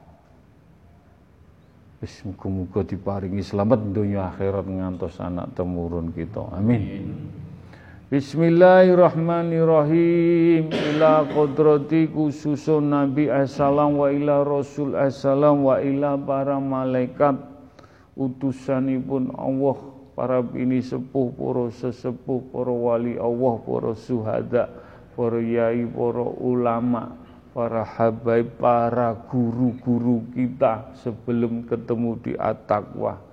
Wis muga-muga diparingi slamet donya akhirat ngantos anak temurun kita. Amin. Bismillahirrahmanirrahim. Ila qudrati khususun Nabi assalam wa ila Rasul assalam wa ila para malaikat utusanipun Allah, para bini sepuh, para sesepuh, para wali Allah, para syuhada, para yai, para ulama, para habaib, para guru-guru kita sebelum ketemu di At-Taqwa.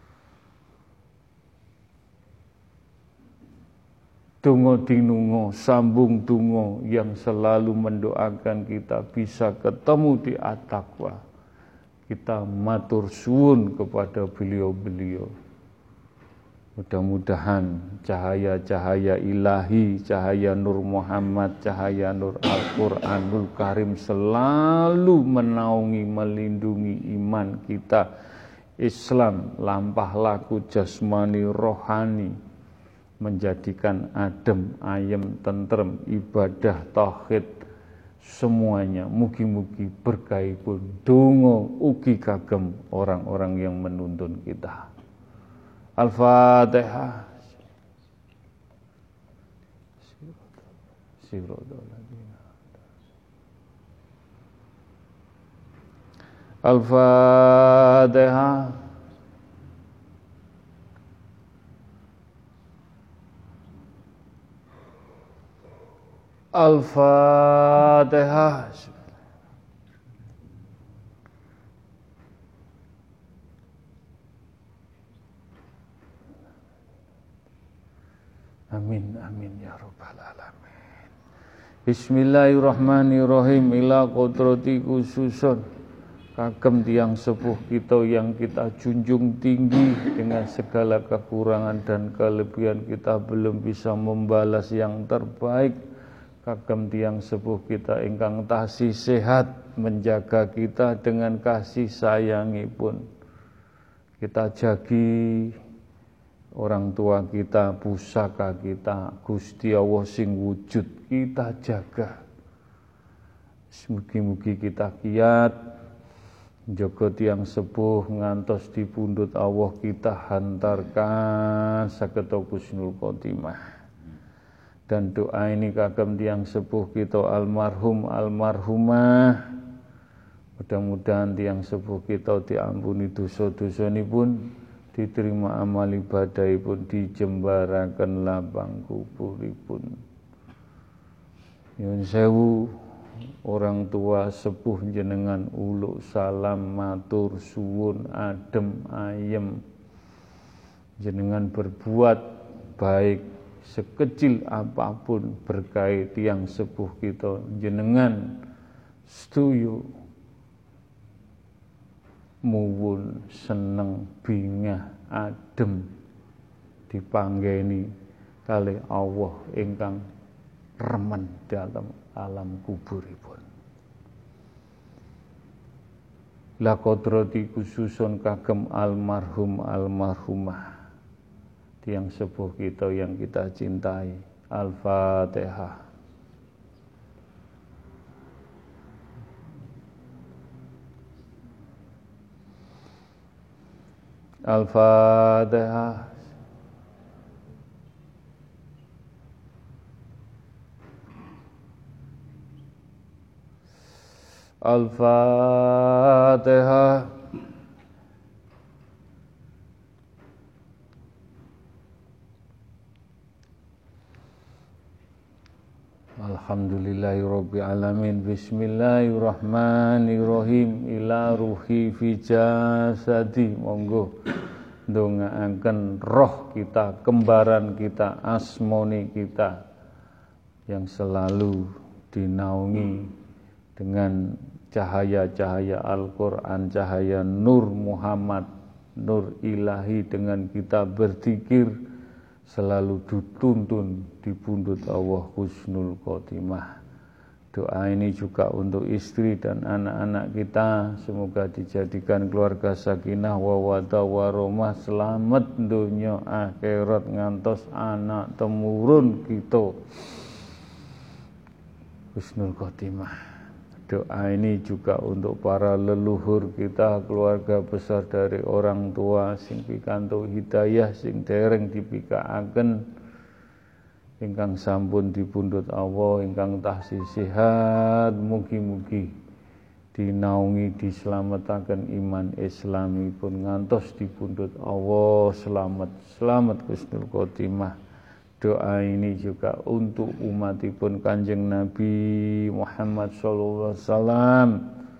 Dongo dinungo, sambung dungo yang selalu mendoakan kita bisa ketemu di At-Taqwa. Kita matur suwun kepada beliau-beliau. Mudah-mudahan cahaya-cahaya ilahi, cahaya Nur Muhammad, cahaya Nur Al-Quranul Karim selalu menaungi, melindungi iman kita, Islam, lampah laku jasmani rohani, menjadikan adem, ayem, tentrem, ibadah, tauhid, semuanya mugi-mugi berkahipun dongo ugi kagem orang-orang yang menuntun kita. Al-Fatihah. Al-Fatihah. Al-Fatihah. Amin amin ya rabbal alamin. Bismillahirrahmanirrahim. Ila qudrati khususun kagem tiang sepuh kita yang kita junjung tinggi, dengan segala kekurangan dan kelebihan kita belum bisa membalas yang terbaik. Kagem tiang sepuh kita ingkang tasih sehat, menjaga kita dengan kasih sayangipun. Kita jagi orang tua kita, pusaka kita, Gusti Allah sing wujud, kita jaga. Mugi-mugi kita kiat njaga tiang sepuh ngantos di pundhut Allah kita hantarkan saged husnul khotimah. Dan doa ini kagem tiang sepuh kita almarhum almarhumah. Mudah-mudahan tiang sepuh kita diampuni dosa-dosanipun, diterima amal ibadahipun, dijembaraken lapang kuburipun. Nyuwun sewu orang tua sepuh jenengan uluk salam matur suwun adem ayem. Jenengan berbuat baik sekecil apapun berkait tiang sepuh kita, jenengan setuju muwun seneng bingah adem dipanggeni kalih Allah ingkang remen dalam alam kuburipun. La qadrati khususun kagem almarhum almarhumah tiang sepuh kita yang kita cintai. Al-Fatihah. Al-Fatihah. Al-Fatihah. Alhamdulillahirabbil alamin. Bismillahirrahmanirrahim. Ila ruhi fi jasadi. Monggo ndongaaken roh kita, kembaran kita, asmoni kita yang selalu dinaungi dengan cahaya-cahaya Al-Quran, cahaya Nur Muhammad, Nur ilahi, dengan kita berzikir selalu dituntun di pundhut Allah husnul khotimah. Doa ini juga untuk istri dan anak-anak kita, semoga dijadikan keluarga sakinah mawaddah warahmah, selamat dunia akhirat ngantos anak temurun kita husnul khotimah. Doa ini juga untuk para leluhur kita, keluarga besar dari orang tua sing pikantuk hidayah, sing dereng dipikaaken ingkang sampun dipundhut Allah ingkang taksih sehat mugi-mugi dinaungi dislametaken iman Islamipun ngantos dipundhut Allah selamat selamat husnul khotimah. Doa ini juga untuk umatipun Kanjeng Nabi Muhammad sallallahu alaihi wasallam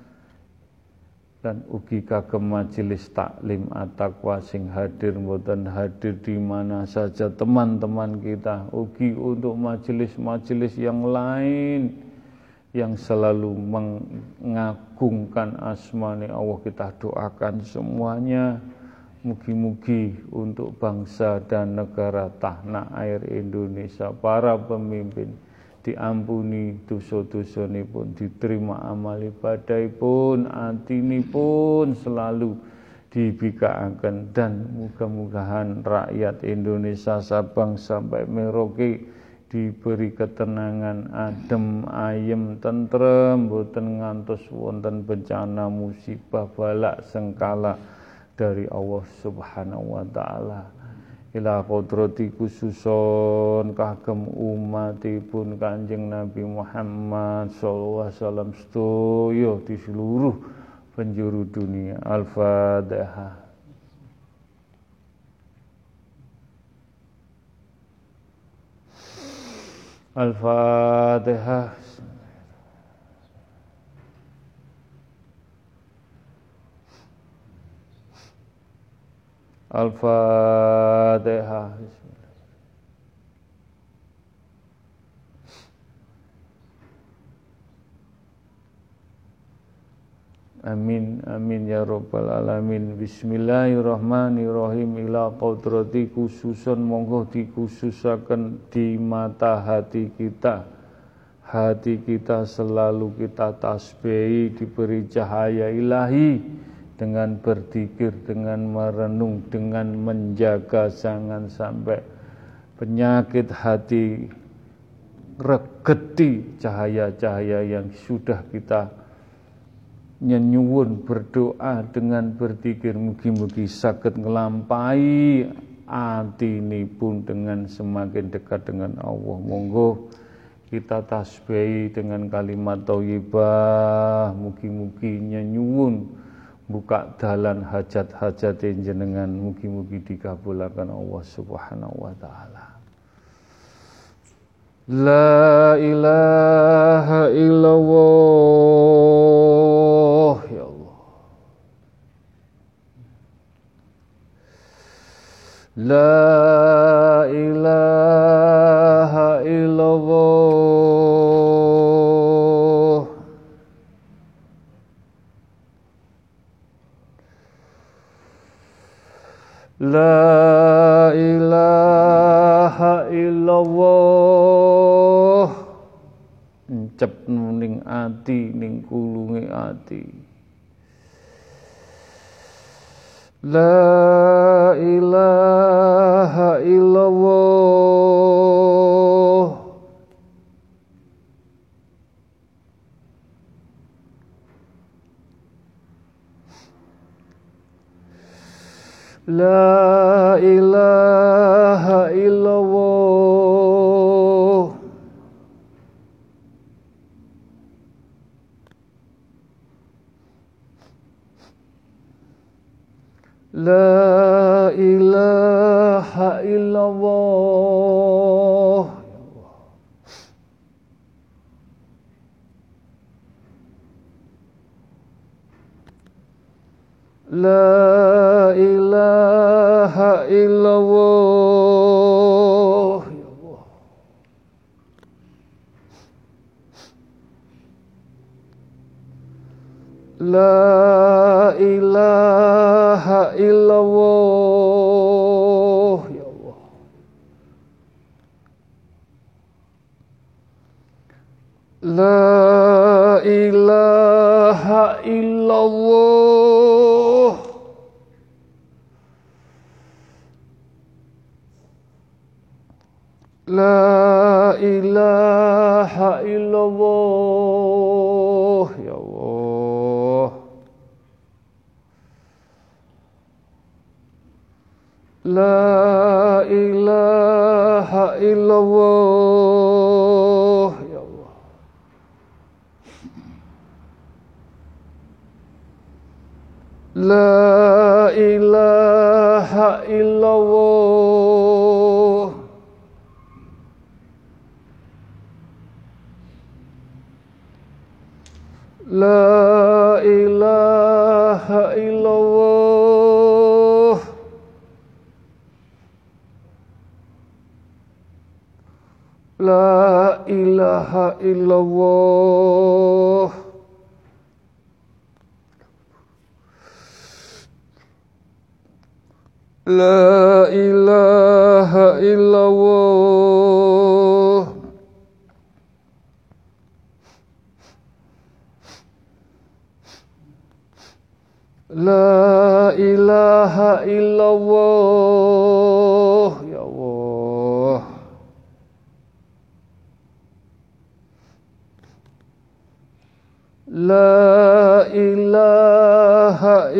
dan ugi kagem majelis taklim at-taqwa sing hadir mboten hadir di mana saja teman-teman kita, ugi untuk majelis-majelis yang lain yang selalu mengagungkan asma-Nya Allah, kita doakan semuanya. Mugi-mugi untuk bangsa dan negara tanah air Indonesia, para pemimpin diampuni dosa-dosanipun, diterima amal ibadahipun, atinipun selalu dibikaaken, dan muga-mugahan rakyat Indonesia Sabang sampai Merauke diberi ketenangan, adem, ayem, tentrem, boten ngantos wonten bencana, musibah, balak, sengkala dari Allah Subhanahu wa taala. Ila qudrati khususon kagem umatipun Kanjeng Nabi Muhammad sallallahu alaihi wasallam sedaya di seluruh penjuru dunia. Al-Fatihah. Al-Fatihah. Al-Fatihah. Amin amin ya rabbal alamin. Bismillahirrahmanirrahim. Ila qudrati khususon monggo dikhususaken di mata hati kita. Hati kita selalu kita tasbihi, diberi cahaya ilahi dengan berzikir, dengan merenung, dengan menjaga jangan sampai penyakit hati regeti cahaya-cahaya yang sudah kita nyenyuwun berdoa dengan berzikir, mugi-mugi saged nglampahi atinipun dengan semakin dekat dengan Allah. Monggo kita tasbihi dengan kalimat thayyibah, mugi-mugi nyenyuwun buka dalan hajat-hajat jenengan, mugi-mugi dikabulaken Allah Subhanahu wa taala. La ilaha illallah ya Allah. La ilaha illallah. La ilaha illallah. Encep ning ati, ning kulunge ati. La ilaha illallah. La ilaha illallah. La ilaha illallah. La ilaha illallah. La ilaha illallah ya Allah. La ilaha illallah. La ilaha illallah ya Allah. La ilaha ilaha illallah. Ya Allah. La ilaha illallah. La ilaha illallah. La ilaha illallah. La ilaha illallah. La ilaha illallah. Ya Allah. La ilaha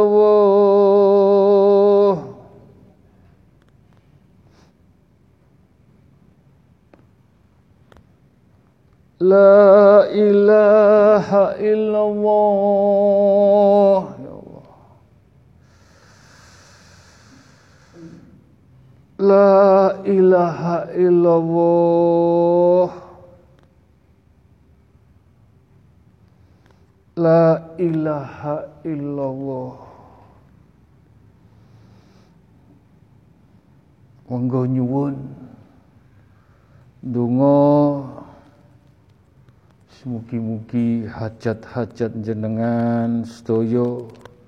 illallah. La ilaha illallah. Ya Allah. La ilaha illallah. La ilaha illallah. Monggo nyuwun donga mugi-mugi hajat-hajat jenengan sedaya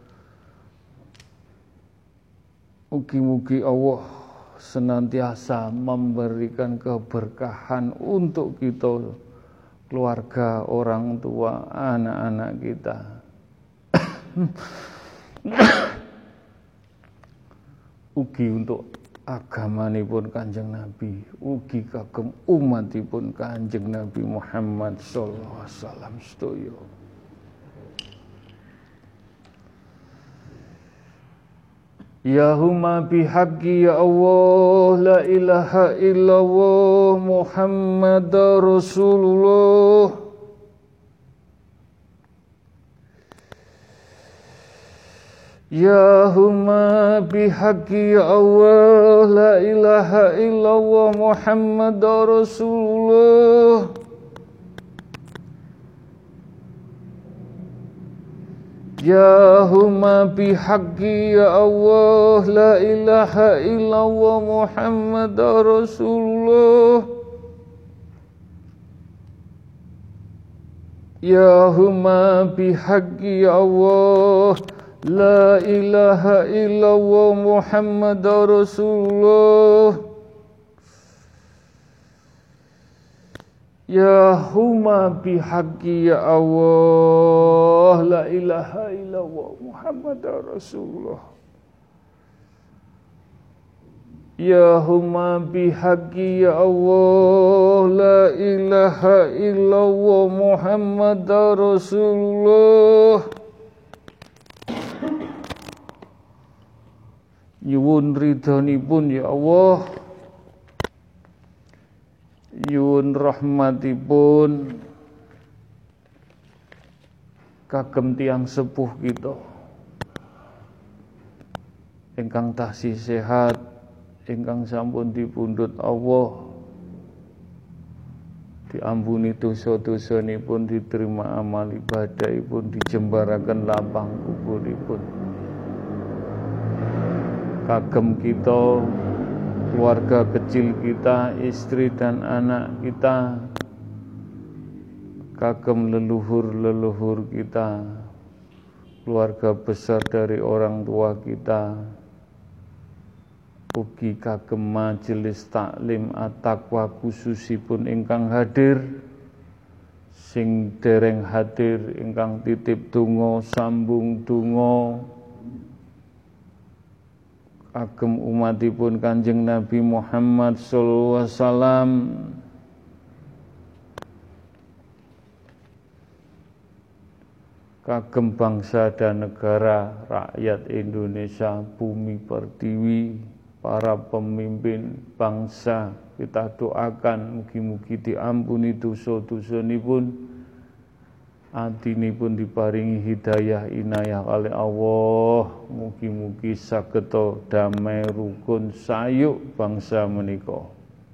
mugi-mugi Allah senantiasa memberikan keberkahan untuk kita, keluarga, orang tua, anak-anak kita. Ugi untuk agamanipun Kanjeng Nabi, ugi kagem umatipun Kanjeng Nabi Muhammad sallallahu alaihi wasallam sedaya. Ya huma bihaqqi ya Allah, la ilaha illallah Muhammadar Rasulullah. Ya huma bihaqqi ya Allah, la ilaha illallah Muhammadar Rasulullah. Ya huma bihaqqi ya Allah, la ilaha illallah Muhammadar Rasulullah. Ya huma bihaqqi ya Allah, la ilaha illallah Muhammadar Rasulullah. Ya huma bihaqqi ya Allah, la ilaha illallah Muhammadar Rasulullah. Ya huma bihaqqi ya Allah, la ilaha illallah Muhammadar Rasulullah. Nyuwun ridhonipun ya Allah, nyuwun rahmatipun kagem tiyang sepuh kita ingkang taksih sehat, ingkang sampun dipundhut Allah, diampuni dosa-dosanipun, diterima amal ibadahipun, dijembaraken lapang kuburipun. Kagem kita, keluarga kecil kita, istri dan anak kita, kagem leluhur-leluhur kita, keluarga besar dari orang tua kita, ugi kagem majelis taklim at-taqwa khususipun ingkang hadir, sing dereng hadir ingkang titip donga, sambung donga kagem umatipun Kanjeng Nabi Muhammad sallallahu alaihi wasallam. Kagem bangsa dan negara, rakyat Indonesia, bumi pertiwi, para pemimpin bangsa. Kita doakan mugi-mugi diampuni dosa-dosanipun, atinipun diparingi hidayah inayah kali Allah. Mugi-mugi sageta damai rukun sayuk bangsa menika.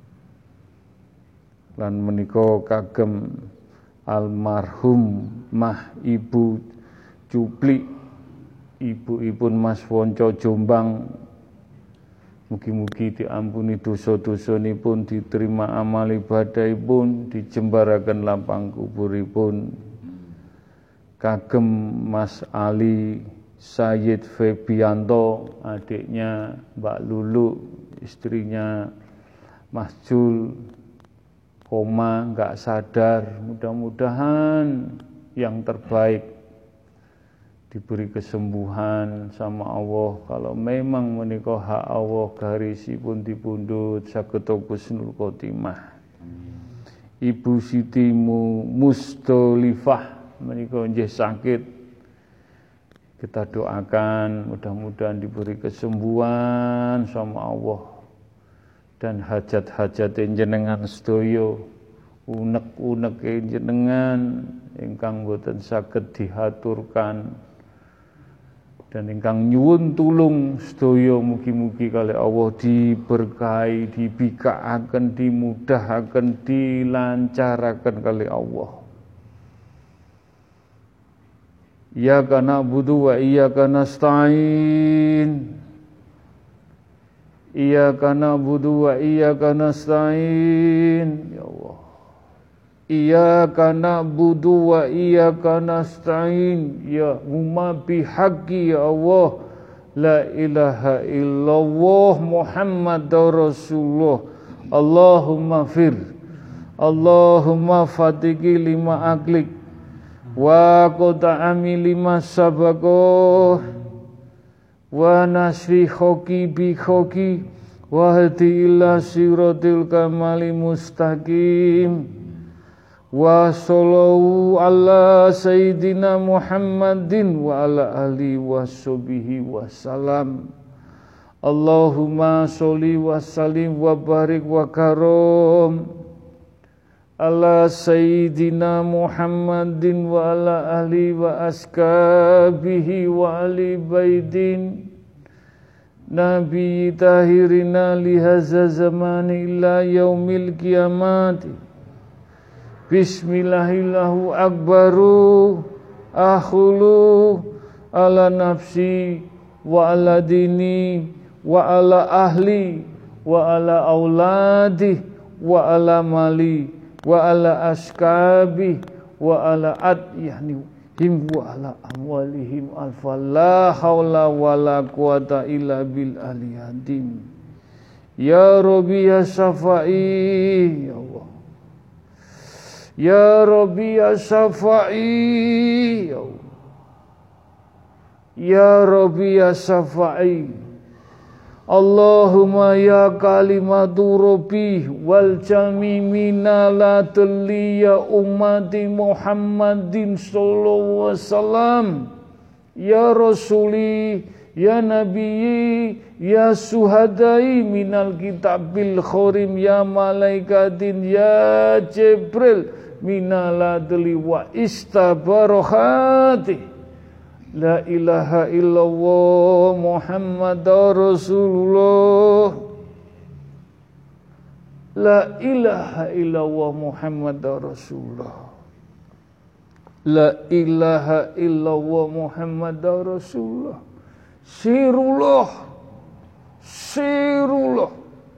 Lan menika kagem almarhum Mah Ibu Cuplik, ibu-ipun Mas Wonco Jombang. Mugi-mugi diampuni dosa-dosanipun, diterima amal ibadahipun, dijembaraken lapang kuburipun. Kagem Mas Ali Sayyid Febianto, adiknya Mbak Lulu, istrinya Mas Jul, koma nggak sadar. Mudah-mudahan yang terbaik, diberi kesembuhan sama Allah. Kalau memang menika hak Allah, garisipun dipundhut sageta husnul khotimah. Ibu Siti Mustolifah menika nggih sakit. Kita doakan mudah-mudahan diberi kesembuhan sama Allah, dan hajat-hajat jenengan sedaya, unek-unek jenengan ingkang boten saged dihaturkan dan ingkang nyuwun tulung sedaya, mugi-mugi kalih Allah diberkahi, dibikaaken, dimudahaken, dilancaraken kalih Allah. Iyyaka na'budu wa iyyaka nasta'in. Iyyaka na'budu wa iyyaka nasta'in. Ya Allah. Iyyaka na'budu wa iyyaka nasta'in. Ya umma bihaqqi ya Allah. La ilaha illallah Muhammadur Rasulullah. Allahumma fir. Allahumma fatiki lima aklik. Wa qota'ami lima sabakoh. Wa nasri khoki bi khoki. Wa hadi ila siratil kamali mustaqim. Wa sallallahu ala sayyidina Muhammadin wa ala alihi wa sahbihi wa salam. Allahumma sholli wa sallim wa barik wa karom ala sayyidina Muhammadin wa ala alihi wa askabihi wa ali baidin Nabi tahirina lihaza zamani ila yaumil qiyamati. Bismillahillahu akbaru akhulu ala nafsi wa ala dini wa ala ahli wa ala auladi wa ala mali wa ala askabi wa ala adyahni him wa ala amwalihim alfa la hawla wa la quwata illa bil aliyadim. Ya Rabbi ya Syafa'i, ya Allah. Ya Rabbi ya Syafa'i, ya Allah. Ya Rabbi ya Syafa'i. Allahumma ya kalimatu Rabbi wal jami minala ya ummati Muhammadin sallallahu alaihi wasallam. Ya Rasuli, ya Nabi, ya suhadai minal kitabil khorim, ya malaikatin, ya Jibril minaladli wa istabarohati. La ilaha illallah Muhammadur Rasulullah. La ilaha illallah Muhammadur Rasulullah. La ilaha illallah Muhammadur Rasulullah. Sirullah. Sirullah.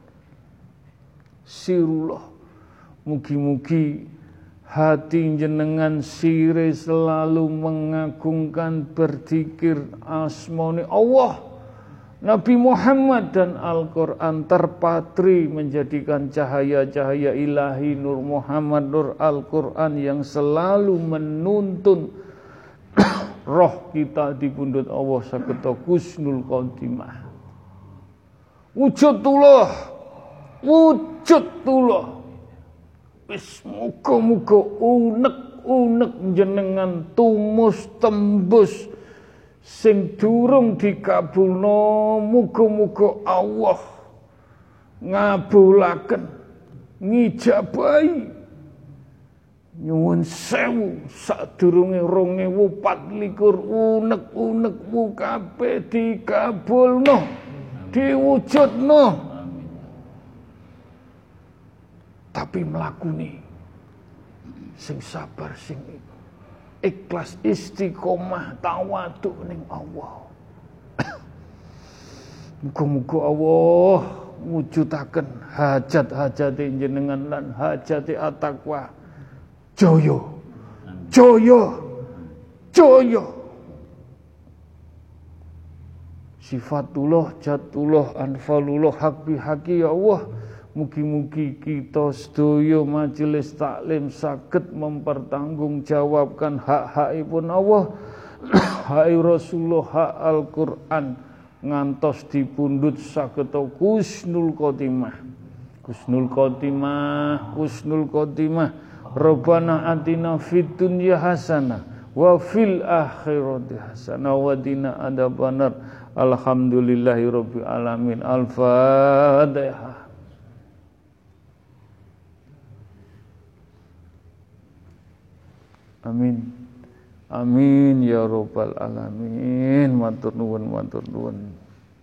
Sirullah. Mugi-mugi hati jenengan sire selalu mengagungkan, berzikir asmauni Allah, Nabi Muhammad dan Al-Quran, terpatri menjadikan cahaya-cahaya ilahi Nur Muhammad, Nur Al-Quran yang selalu menuntun roh kita di pundut Allah sageta husnul khotimah. Wujudullah, wujudullah. Wis muga-muga unek-unek jenengan tumus tembus sing durung dikabulno, muga-muga Allah ngabulaken ngijabahi nyuwun sewu sadurunge rong ewu patlikur unek-unekmu kabeh dikabulno diwujudno tapi mlakune sing sabar sing ikhlas istiqomah tawadhu ning Allah. Muga-muga Allah wujudaken hajat-hajate jenengan lan hajate at-taqwa jaya jaya jaya. Sifatullah jatullah anfalullah hak bihaqi ya Allah. Mugi-mugi kita sedaya majelis taklim saged mempertanggungjawabkan hak-hakipun Allah, hak Rasulullah, hak Al-Qur'an ngantos dipundhut saged husnul khotimah. Husnul khotimah, husnul khotimah. Rabbana atina fid dunya hasanah wa fil akhirati hasanah wa qina adzabannar. Alhamdulillahirabbil alamin. Al-Fatihah. Amin. Amin ya rabbal alamin. Matur nuwun, matur nuwun.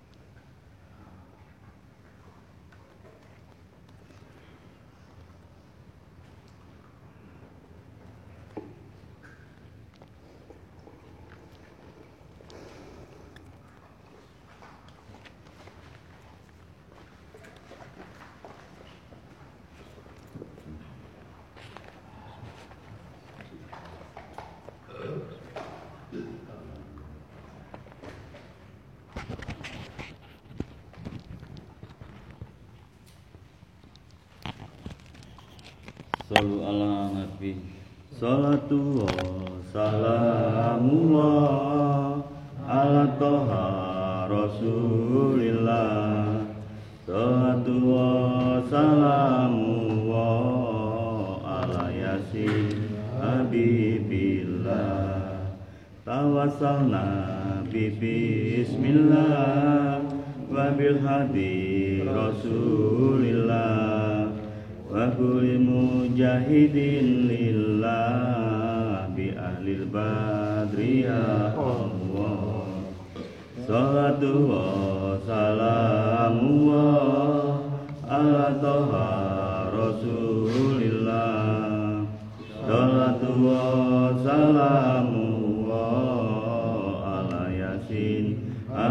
Sallu ala nabi. Salatu wa salamullah ala toha rasulillah. Salatu wa salamullah ala yasin habibillah. Tawassalna bi bismillah wa bil hadi rasulillah. Wa kulli mujahidin lillah bi ahlil badri ya Allah. Salatu wa salamu ala toha rasulillah. Salatu wa salamu ala yasin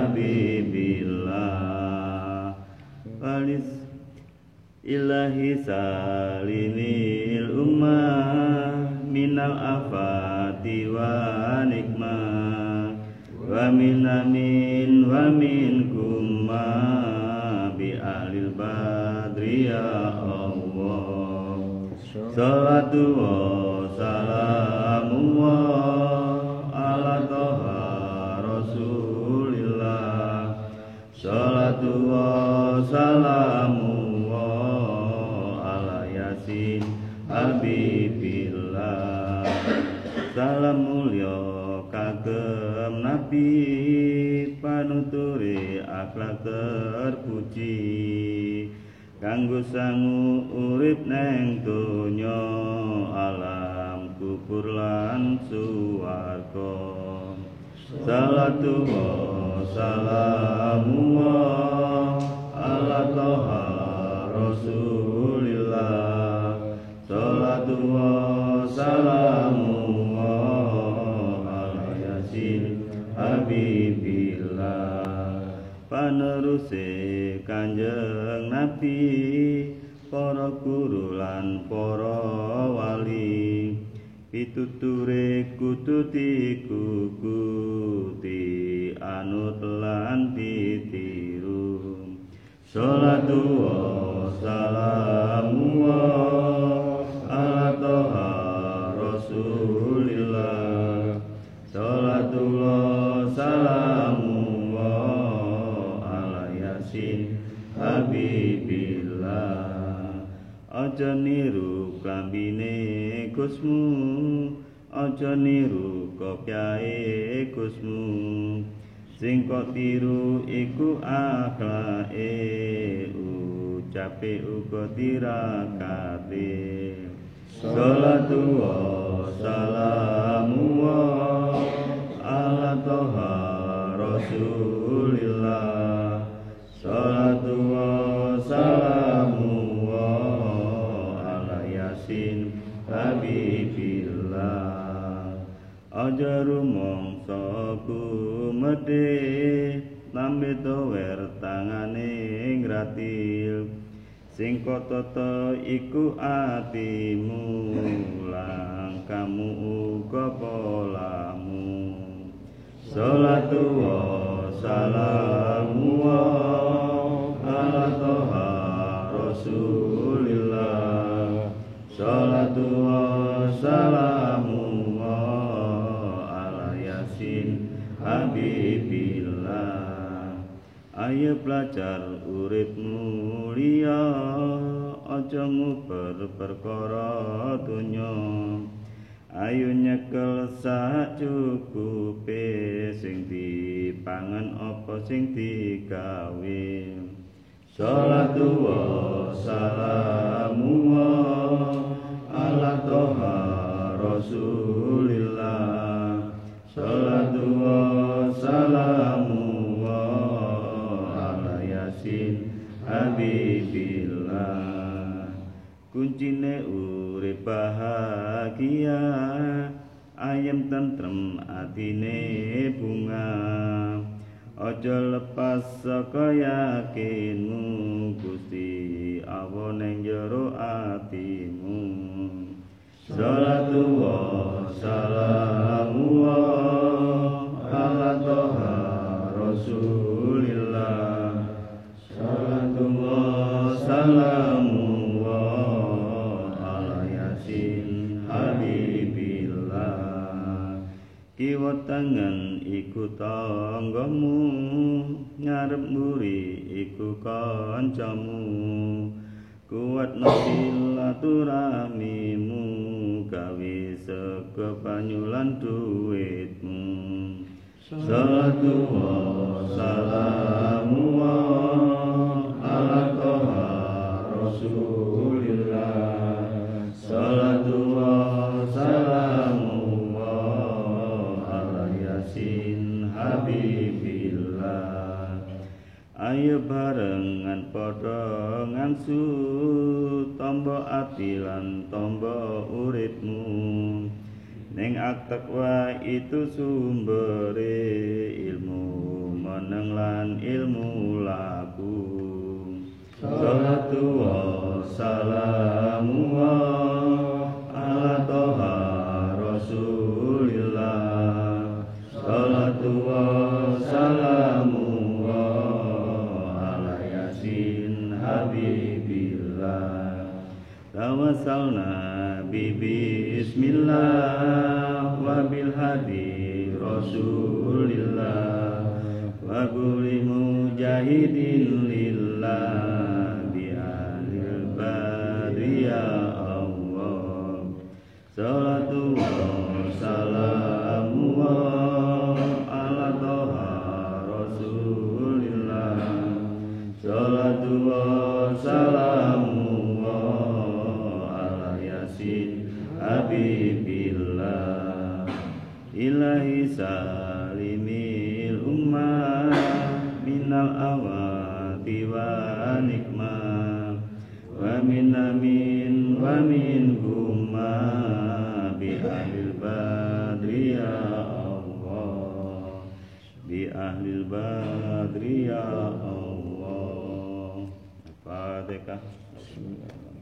habibillah. Walis Ilahi salimil ummah minal afati wa nikmah wa min amin wa min kumma bi ahlil badri ya Allah. Salatu wa salamu ala toha rasulillah. Salatu wa salamu habibillah. Salam mulya kagem nabi panuture akhlak terpuji kanggo sangu urip neng donya alam kubur lan suwarga. Salatu wa salamu ala toha rasulillah. Salatu wa salamu ala yasin habibillah. Paneruse Kanjeng Nabi, para guru lan para wali, pituture kudu dikukuti anut lan ditiru. Salatu wa salamu ala toha rasulillah. Salatu wa salamu ala yasin habibillah. Aja niru klambine Gusmu, aja niru kopyahe Gusmu. Sing kok tiru iku akhlake ngucape uga tirakate sholatu wa salamu wa ala toha rasulillah sholatu wa salamu wa ala yasin habibillah aja rumangsa kumedhe nambe tower tangane ngratil sing katata iku atimu langkamu uga polamu sholatu wa salamu wa ala toha rasulillah sholatu wa salamu wa ala yasin habibillah ayo belajar urip mulia aja nguber perkara donya ayo nyekel sak cukupe sing dipangan apa sing digawe sholatu wa salamu wa ala toha rasulillah sholatu wa salamu habibillah kuncine urip bahagia ayem tentrem atine bunga aja lepas saka yakinmu Gusti Allah ning jero atimu sholatu wa salamu wa ala toha rasulillah sholatu wa salamu wa ala yasin habibillah kiwa tangan iku tanggamu ngarep mburi iku kancamu kuat silaturahmimu gawe sego banyulan duitmu sholatu wa salamu wa ala toha rasulillah sholatu wa salamu wa ala yasin habibillah ayo barengan padha ngangsu tombo ati lan tombo uripmu ning at-taqwa itu sumbere ilmu meneng lan ilmu laku sholatu wa salamu wa ala toha rasulillah sholatu wa salamu wa ala yasin habibillah tawassalna bi bismillah wa bil hadi rasulillah wa kulli mujahidin lillah bi ahlil badri ya Allah sholatu wa salamu wa ala toha rasulillah sholatu wa salamu wa ala yasin habibillah ilahi salimil ummah minal awati wa nikmah wa min amin wa min gumma bi ahlil badri ya Allah bi ahlil badri ya Allah Fatihah.